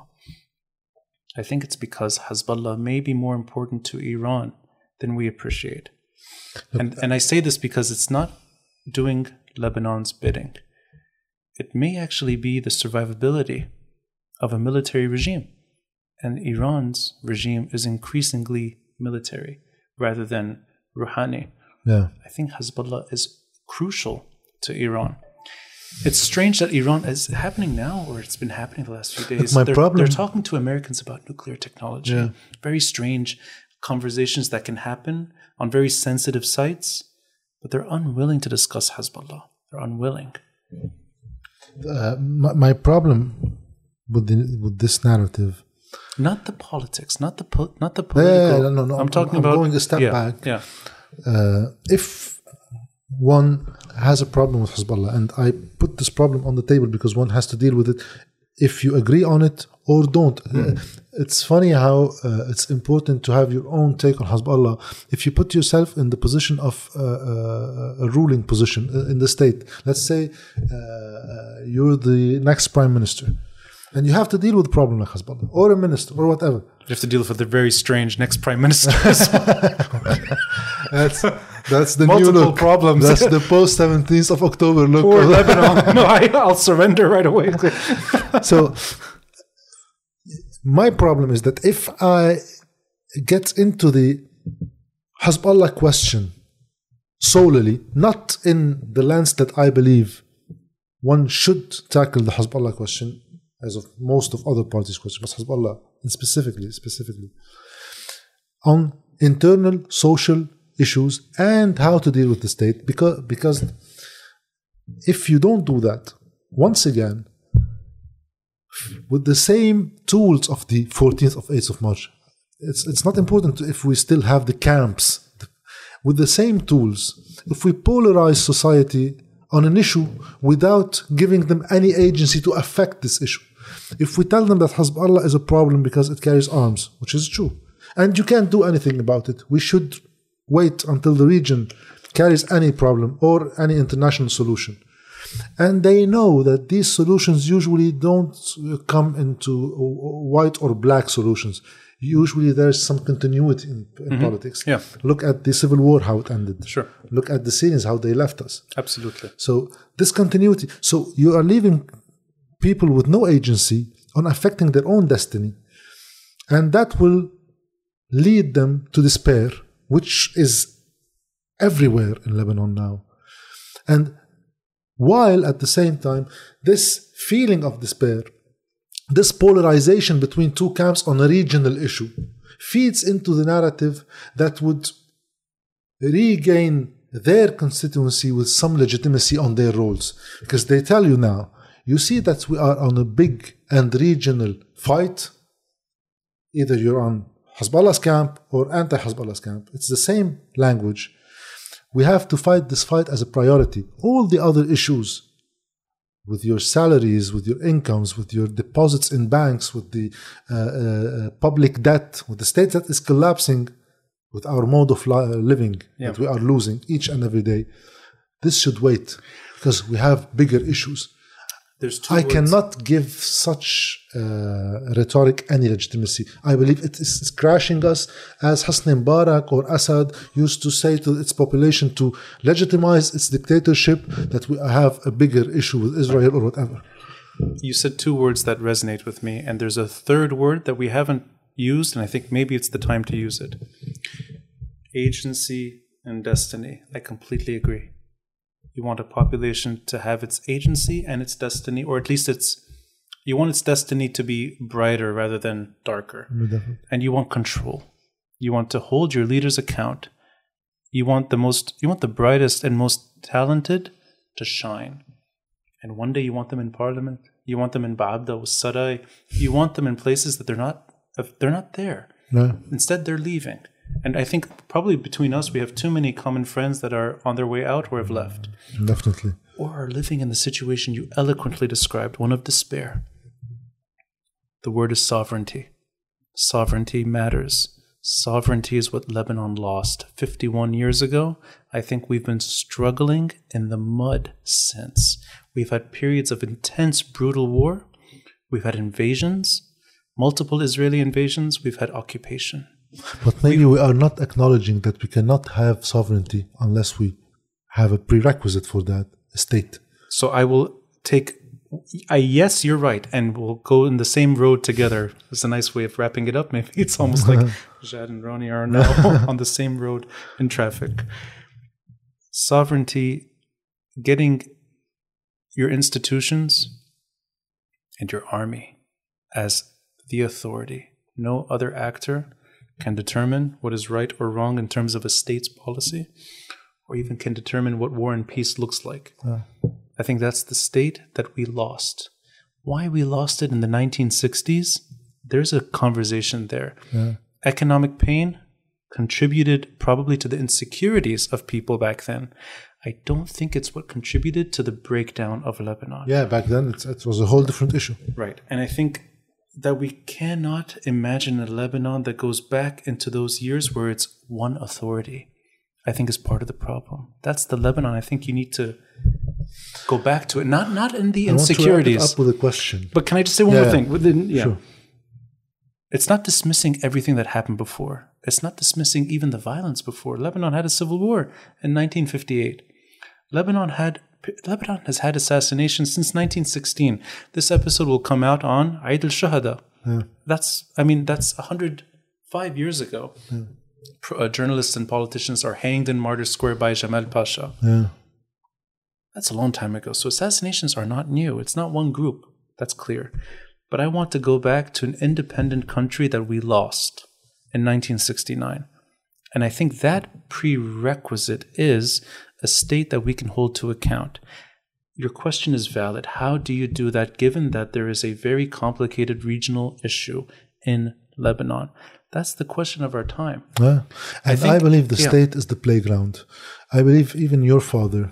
I think it's because Hezbollah may be more important to Iran than we appreciate. And I say this because it's not doing Lebanon's bidding. It may actually be the survivability of a military regime. And Iran's regime is increasingly military rather than Rouhani. Yeah. I think Hezbollah is crucial to Iran. It's strange that Iran is happening now, or it's been happening the last few days. They're talking to Americans about nuclear technology. Yeah. Very strange conversations that can happen on very sensitive sites, but they're unwilling to discuss Hezbollah. They're unwilling. My problem with this narrative, not the politics, not the political. No. I'm talking about going a step back. Yeah. If one has a problem with Hezbollah, and I put this problem on the table because one has to deal with it if you agree on it or don't. It's funny how it's important to have your own take on Hezbollah. If you put yourself in the position of a ruling position in the state, let's say you're the next prime minister, and you have to deal with a problem like Hezbollah, or a minister, or whatever. You have to deal with the very strange next prime minister. That's the multiple new look. Problems. That's the post 17th of October look. Poor Lebanon. No, I'll surrender right away. So my problem is that if I get into the Hezbollah question solely, not in the lens that I believe one should tackle the Hezbollah question, as of most of other parties' questions, but Hezbollah specifically, on internal social issues and how to deal with the state, because if you don't do that, once again, with the same tools of the 14th of 8th of March, it's not important if we still have the camps. With the same tools, if we polarize society on an issue without giving them any agency to affect this issue, if we tell them that Hezbollah is a problem because it carries arms, which is true, and you can't do anything about it, we should wait until the region carries any problem or any international solution. And they know that these solutions usually don't come into white or black solutions. Usually there's some continuity in politics. Yeah. Look at the Civil War, how it ended. Sure. Look at the Syrians, how they left us. Absolutely. So this continuity. So you are leaving people with no agency on affecting their own destiny. And that will lead them to despair, which is everywhere in Lebanon now. And while at the same time, this feeling of despair, this polarization between two camps on a regional issue, feeds into the narrative that would regain their constituency with some legitimacy on their roles. Because they tell you now, you see that we are on a big and regional fight. Either you're on Hezbollah's camp or anti-Hezbollah's camp. It's the same language. We have to fight this fight as a priority. All the other issues with your salaries, with your incomes, with your deposits in banks, with the public debt, with the state that is collapsing, with our mode of living that we are losing each and every day, this should wait because we have bigger issues. There's two words. Cannot give such rhetoric any legitimacy. I believe it is crashing us, as Hosni Mubarak or Assad used to say to its population to legitimize its dictatorship, that we have a bigger issue with Israel or whatever. You said two words that resonate with me, and there's a third word that we haven't used, and I think maybe it's the time to use it. Agency and destiny. I completely agree. You want a population to have its agency and its destiny, or at least you want its destiny to be brighter rather than darker. And you want control. You want to hold your leaders account. You want the brightest and most talented to shine. And one day you want them in parliament. You want them in Ba'abda or Sarai. You want them in places that they're not there. No. Instead, they're leaving. And I think probably between us, we have too many common friends that are on their way out or have left. Definitely. Or are living in the situation you eloquently described, one of despair. The word is sovereignty. Sovereignty matters. Sovereignty is what Lebanon lost 51 years ago. I think we've been struggling in the mud since. We've had periods of intense, brutal war. We've had invasions, multiple Israeli invasions. We've had occupation. But maybe we are not acknowledging that we cannot have sovereignty unless we have a prerequisite for that, a state. So I will take, yes, you're right, and we'll go in the same road together. It's a nice way of wrapping it up. Maybe it's almost like Jad and Ronnie are now on the same road in traffic. Sovereignty, getting your institutions and your army as the authority. No other actor can determine what is right or wrong in terms of a state's policy, or even can determine what war and peace looks like. I think that's the state that we lost. Why we lost it in the 1960s, there's a conversation there. Economic pain contributed probably to the insecurities of people back then. I don't think it's what contributed to the breakdown of Lebanon. Yeah, back then it was a whole different issue. Right. And I think that we cannot imagine a Lebanon that goes back into those years where it's one authority. I think is part of the problem. That's the Lebanon. I think you need to go back to it. Not in the insecurities. I want to wrap it up with a question. But can I just say one more thing? Sure. It's not dismissing everything that happened before. It's not dismissing even the violence before. Lebanon had a civil war in 1958. Lebanon has had assassinations since 1916. This episode will come out on Eid al-Shuhada. That's 105 years ago. Journalists and politicians are hanged in Martyrs Square by Jamal Pasha. That's a long time ago. So assassinations are not new. It's not one group. That's clear. But I want to go back to an independent country that we lost in 1969. And I think that prerequisite is a state that we can hold to account. Your question is valid. How do you do that given that there is a very complicated regional issue in Lebanon? That's the question of our time. And I believe the state is the playground. I believe even your father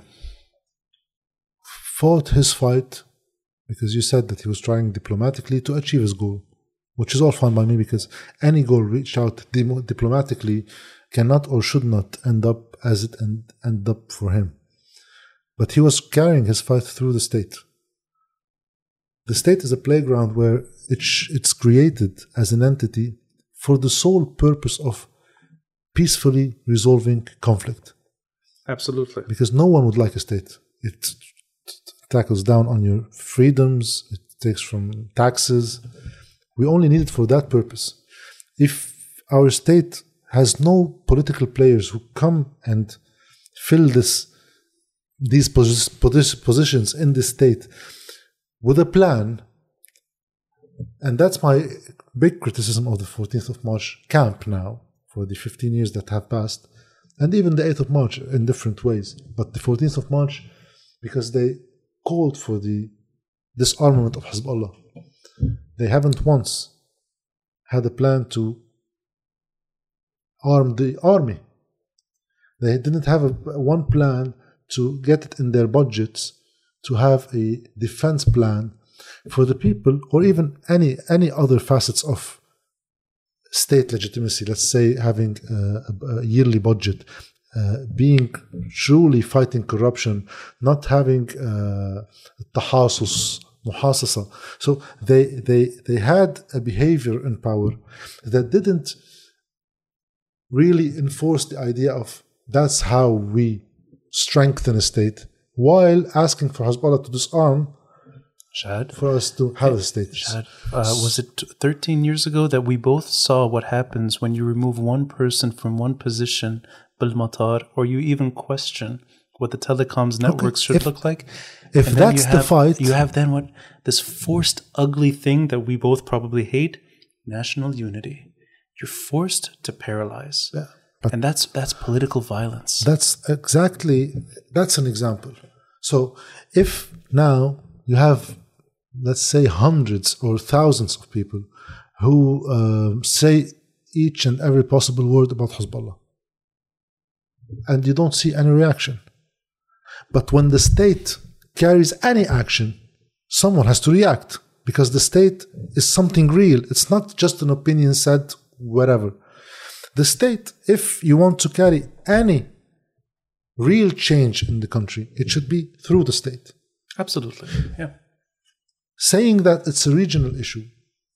fought his fight because you said that he was trying diplomatically to achieve his goal, which is all fine by me because any goal reached out diplomatically cannot or should not end up as it end up for him. But he was carrying his fight through the state. The state is a playground where it's created as an entity for the sole purpose of peacefully resolving conflict. Absolutely. Because no one would like a state. It tackles down on your freedoms. It takes from taxes. We only need it for that purpose. If our state has no political players who come and fill these positions in the state with a plan, and that's my big criticism of the 14th of March camp now for the 15 years that have passed, and even the 8th of March in different ways. But the 14th of March, because they called for the disarmament of Hezbollah. They haven't once had a plan to arm the army. They didn't have one plan to get it in their budgets to have a defense plan for the people, or even any other facets of state legitimacy. Let's say having a yearly budget, being truly fighting corruption, not having tahasus, muhasasa. So they had a behavior in power that didn't really enforce the idea of that's how we strengthen a state, while asking for Hezbollah to disarm Shahad, for us to have a state. Shahad, was it 13 years ago that we both saw what happens when you remove one person from one position, bil-matar, or you even question what the telecoms networks should look like? If that's the fight... You have then what? This forced, ugly thing that we both probably hate, national unity. You're forced to paralyze. Yeah. And that's political violence. That's an example. So if now you have, let's say, hundreds or thousands of people who say each and every possible word about Hezbollah, and you don't see any reaction. But when the state carries any action, someone has to react, because the state is something real. It's not just an opinion said wherever. The state, if you want to carry any real change in the country, it should be through the state. Absolutely, yeah. Saying that it's a regional issue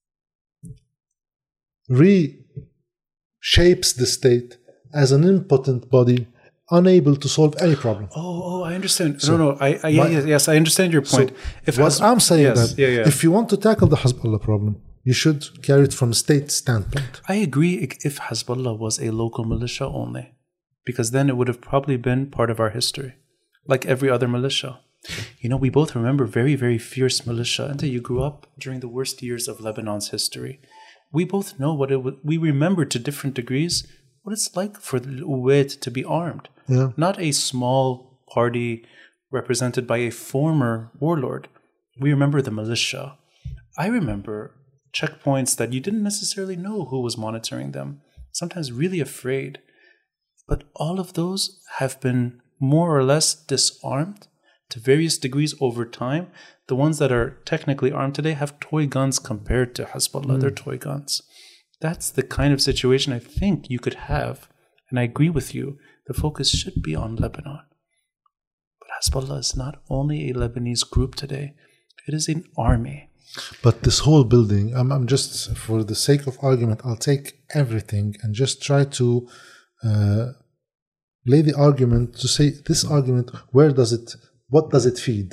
reshapes the state as an impotent body, unable to solve any problem. Oh, I understand. So yes, I understand your point. So I'm saying if you want to tackle the Hezbollah problem, you should carry it from a state standpoint. I agree if Hezbollah was a local militia only, because then it would have probably been part of our history, like every other militia. You know, we both remember very, very fierce militia until you grew up during the worst years of Lebanon's history. We both know we remember to different degrees what it's like for the Uwait to be armed. Yeah. Not a small party represented by a former warlord. We remember the militia. I remember checkpoints that you didn't necessarily know who was monitoring them, sometimes really afraid. But all of those have been more or less disarmed to various degrees over time. The ones that are technically armed today have toy guns compared to Hezbollah. They're toy guns. That's the kind of situation I think you could have. And I agree with you. The focus should be on Lebanon. But Hezbollah is not only a Lebanese group today. It is an army. But this whole building, I'm just, for the sake of argument, I'll take everything and just try to lay the argument to say this argument, what does it feed?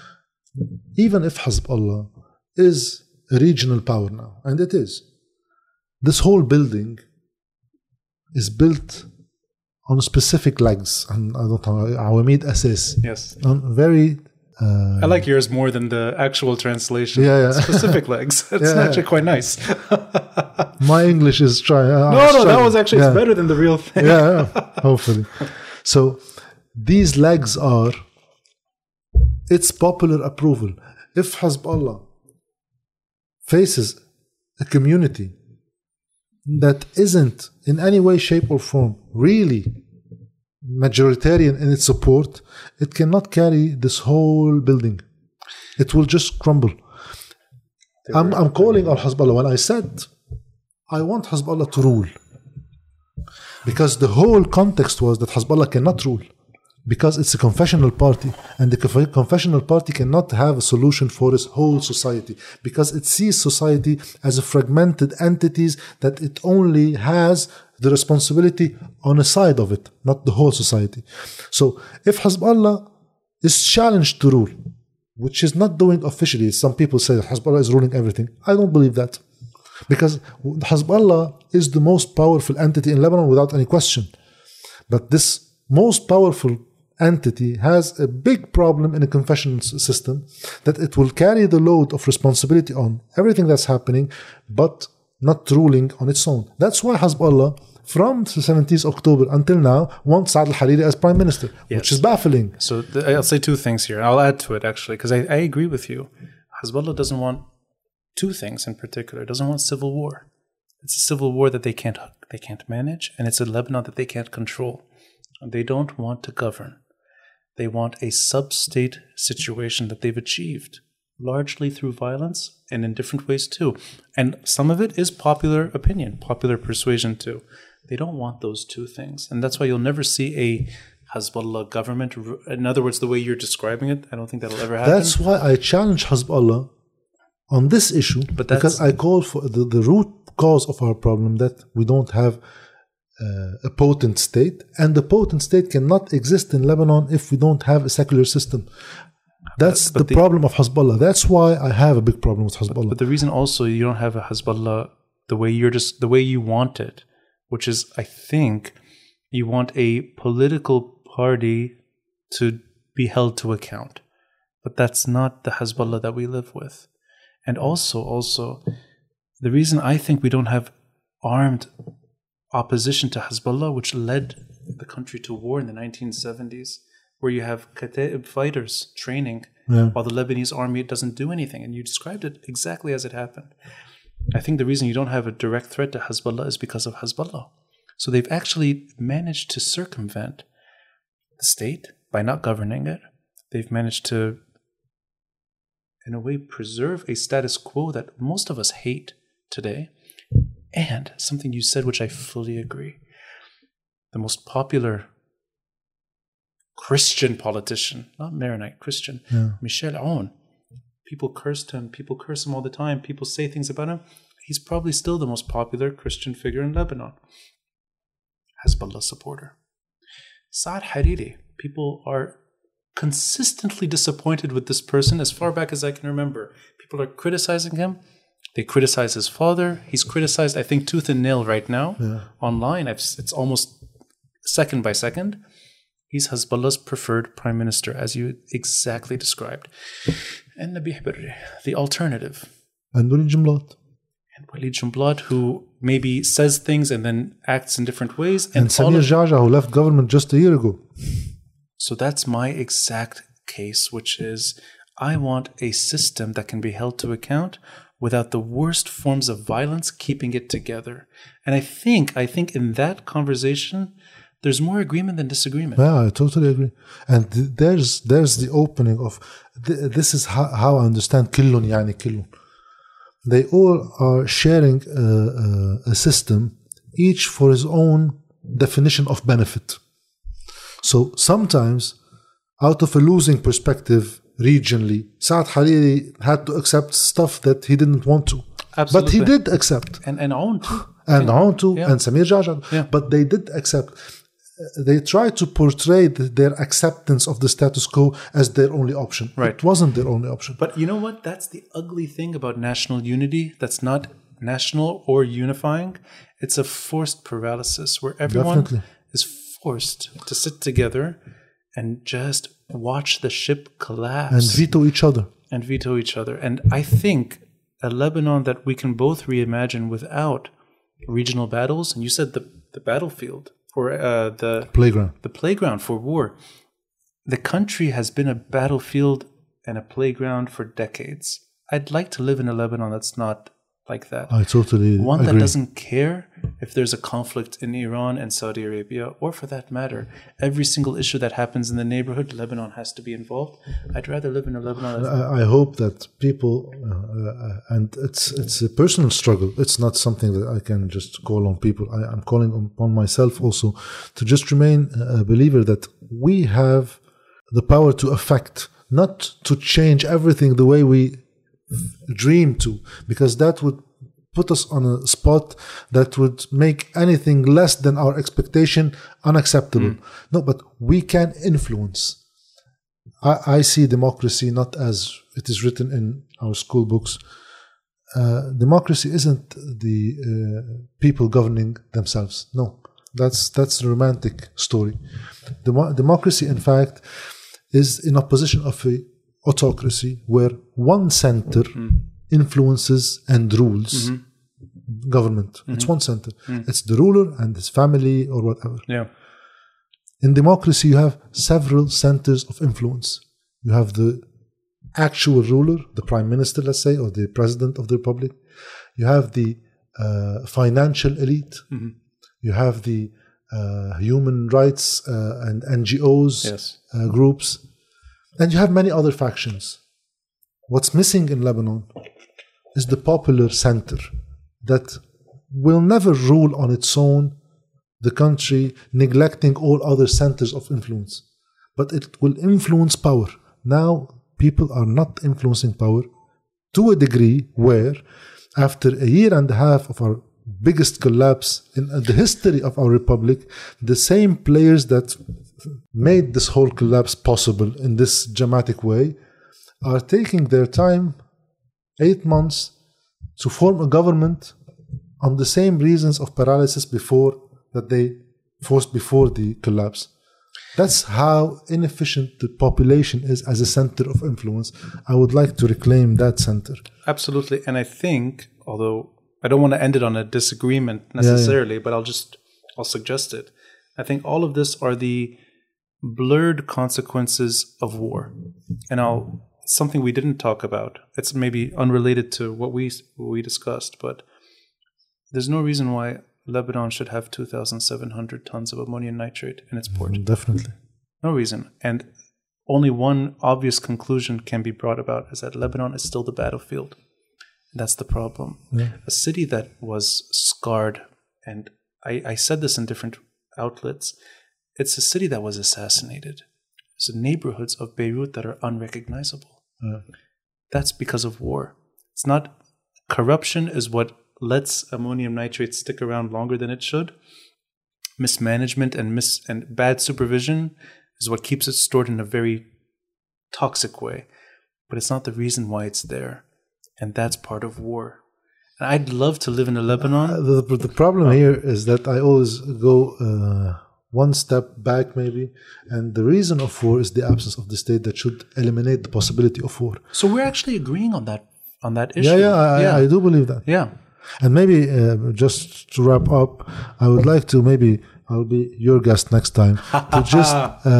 Even if Hezbollah is a regional power now, and it is, this whole building is built on specific legs, and I don't know, Awamid Asas. Yes. On very... I like yours more than the actual translation. Yeah. Specific legs. It's actually quite nice. My English is trying. No, that was actually it's better than the real thing. Yeah, hopefully. So these legs are its popular approval. If Hezbollah faces a community that isn't in any way, shape, or form really majoritarian in its support, it cannot carry this whole building. It will just crumble. I'm calling on Hezbollah when I said I want Hezbollah to rule, because the whole context was that Hezbollah cannot rule because it's a confessional party, and the confessional party cannot have a solution for its whole society, because it sees society as a fragmented entities that it only has the responsibility on a side of it, not the whole society. So if Hezbollah is challenged to rule, which is not doing officially, some people say that Hezbollah is ruling everything. I don't believe that, because Hezbollah is the most powerful entity in Lebanon without any question. But this most powerful entity has a big problem in a confessional system, that it will carry the load of responsibility on everything that's happening, but not ruling on its own. That's why Hezbollah, from the 17th October until now, wants Saad al-Hariri as prime minister, which is baffling. So I'll say two things here. I'll add to it, actually, because I agree with you. Hezbollah doesn't want two things in particular. It doesn't want civil war. It's a civil war that they can't manage, and it's a Lebanon that they can't control. They don't want to govern. They want a sub-state situation that they've achieved, largely through violence and in different ways too. And some of it is popular opinion, popular persuasion too. They don't want those two things. And that's why you'll never see a Hezbollah government. In other words, the way you're describing it, I don't think that'll ever happen. That's why I challenge Hezbollah on this issue, because I call for the root cause of our problem, that we don't have a potent state, and the potent state cannot exist in Lebanon if we don't have a secular system. That's the problem of Hezbollah. That's why I have a big problem with Hezbollah. But the reason also you don't have a Hezbollah the way you want it, which is, I think, you want a political party to be held to account. But that's not the Hezbollah that we live with. And also, the reason I think we don't have armed opposition to Hezbollah, which led the country to war in the 1970s, where you have Kataib fighters training while the Lebanese army doesn't do anything. And you described it exactly as it happened. I think the reason you don't have a direct threat to Hezbollah is because of Hezbollah. So they've actually managed to circumvent the state by not governing it. They've managed to, in a way, preserve a status quo that most of us hate today. And something you said, which I fully agree, the most popular Christian politician, not Maronite, Christian, Michel Aoun. People cursed him. People curse him all the time. People say things about him. He's probably still the most popular Christian figure in Lebanon. Hezbollah supporter. Saad Hariri. People are consistently disappointed with this person as far back as I can remember. People are criticizing him. They criticize his father. He's criticized, I think, tooth and nail right now online. It's almost second by second. He's Hezbollah's preferred prime minister, as you exactly described. And Nabih Berri, the alternative. And Walid Jumblat. And Walid Jumblat, who maybe says things and then acts in different ways. And Samir Geagea, who left government just a year ago. So that's my exact case, which is I want a system that can be held to account without the worst forms of violence keeping it together. And I think in that conversation, there's more agreement than disagreement. Yeah, I totally agree. And there's the opening of, this is how I understand Killun Yani Killun. They all are sharing a system, each for his own definition of benefit. So sometimes, out of a losing perspective, regionally, Saad Hariri had to accept stuff that he didn't want to. Absolutely. But he did accept. And Aoun too. And Aoun too, and Samir Geagea. Yeah. But they did accept. They tried to portray their acceptance of the status quo as their only option. Right. It wasn't their only option. But you know what? That's the ugly thing about national unity. That's not national or unifying. It's a forced paralysis where everyone is forced to sit together and just watch the ship collapse. And veto each other. And I think a Lebanon that we can both reimagine without regional battles, and you said the battlefield, for the playground for war. The country has been a battlefield and a playground for decades. I'd like to live in a Lebanon that's not like that. I totally agree. One that doesn't care if there's a conflict in Iran and Saudi Arabia, or for that matter, every single issue that happens in the neighborhood, Lebanon has to be involved. I'd rather live in a Lebanon. I hope that people, and it's a personal struggle. It's not something that I can just call on people. I'm calling upon myself also to just remain a believer that we have the power to affect, not to change everything the way we dream to, because that would put us on a spot that would make anything less than our expectation unacceptable. No, but we can influence. I see democracy not as it is written in our school books. Democracy isn't the people governing themselves. No, that's a romantic story. Democracy, in fact, is in opposition of a autocracy where one center influences and rules government. It's one center. It's the ruler and his family or whatever. Yeah. In democracy, you have several centers of influence. You have the actual ruler, the prime minister, let's say, or the president of the republic. You have the financial elite. Mm-hmm. You have the human rights and NGOs groups. And you have many other factions. What's missing in Lebanon is the popular center that will never rule on its own the country, neglecting all other centers of influence. But it will influence power. Now, people are not influencing power to a degree where, after a year and a half of our biggest collapse in the history of our republic, the same players that made this whole collapse possible in this dramatic way are taking their time, 8 months, to form a government on the same reasons of paralysis before that they forced before the collapse. That's how inefficient the population is as a center of influence. I would like to reclaim that center. Absolutely. And I think, although I don't want to end it on a disagreement necessarily, but I'll suggest it. I think all of this are the blurred consequences of war. And something we didn't talk about. It's maybe unrelated to what we discussed, but there's no reason why Lebanon should have 2,700 tons of ammonium nitrate in its port. Definitely. No reason. And only one obvious conclusion can be brought about is that Lebanon is still the battlefield. That's the problem. Yeah. A city that was scarred, and I said this in different outlets, it's a city that was assassinated. It's neighborhoods of Beirut that are unrecognizable. Yeah. That's because of war. It's not corruption is what lets ammonium nitrate stick around longer than it should. Mismanagement and bad supervision is what keeps it stored in a very toxic way. But it's not the reason why it's there. And that's part of war. And I'd love to live in a Lebanon. The problem here is that I always go one step back maybe. And the reason of war is the absence of the state that should eliminate the possibility of war. So we're actually agreeing on that issue. I do believe that. Yeah. And maybe just to wrap up, I would like to I'll be your guest next time to just.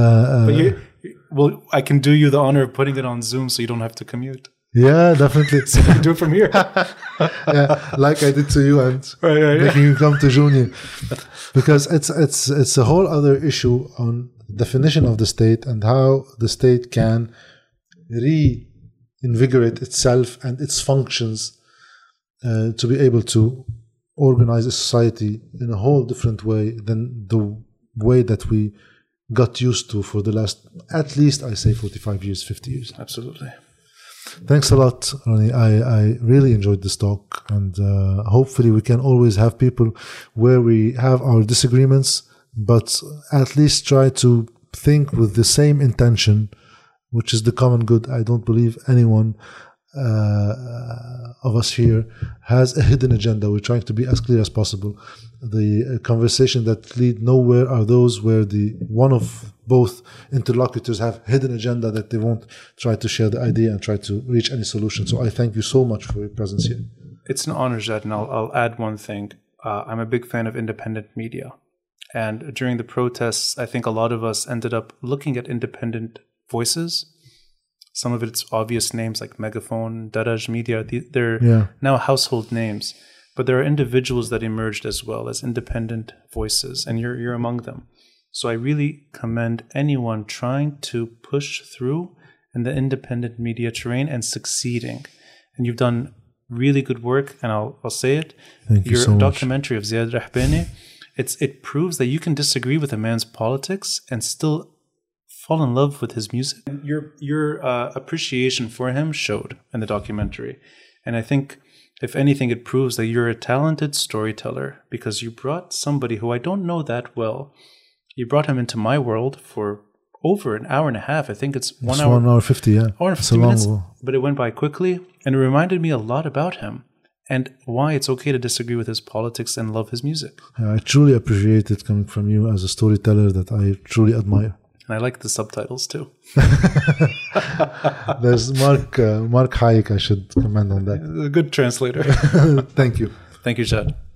I can do you the honor of putting it on Zoom so you don't have to commute. Yeah, definitely. So you can do it from here. Yeah, like I did to you and making you come to Junior, because it's a whole other issue on definition of the state and how the state can reinvigorate itself and its functions. To be able to organize a society in a whole different way than the way that we got used to for the last, at least I say 45 years, 50 years. Absolutely. Thanks a lot, Ronnie. I really enjoyed this talk, and hopefully we can always have people where we have our disagreements, but at least try to think with the same intention, which is the common good. I don't believe anyone of us here has a hidden agenda. We're trying to be as clear as possible. The conversation that lead nowhere are those where one of both interlocutors have hidden agenda that they won't try to share the idea and try to reach any solution. So I thank you so much for your presence here. It's an honor, Jad, and I'll add one thing. I'm a big fan of independent media. And during the protests, I think a lot of us ended up looking at independent voices. Some of it's obvious names like Megaphone, Daraj Media. They're now household names. But there are individuals that emerged as well as independent voices, and you're among them. So I really commend anyone trying to push through in the independent media terrain and succeeding. And you've done really good work, and I'll say it. Thank you so much. Your documentary of Ziad Rahbani, it proves that you can disagree with a man's politics and still fall in love with his music. Your appreciation for him showed in the documentary. And I think, if anything, it proves that you're a talented storyteller because you brought somebody who I don't know that well. You brought him into my world for over an hour and a half. I think it's 1 hour. 1 hour 50, yeah. 1 hour 50 minutes. But it went by quickly, and it reminded me a lot about him and why it's okay to disagree with his politics and love his music. I truly appreciate it coming from you as a storyteller that I truly admire. And I like the subtitles too. There's Mark Hayek. I should comment on that. A good translator. Thank you. Thank you, Jad.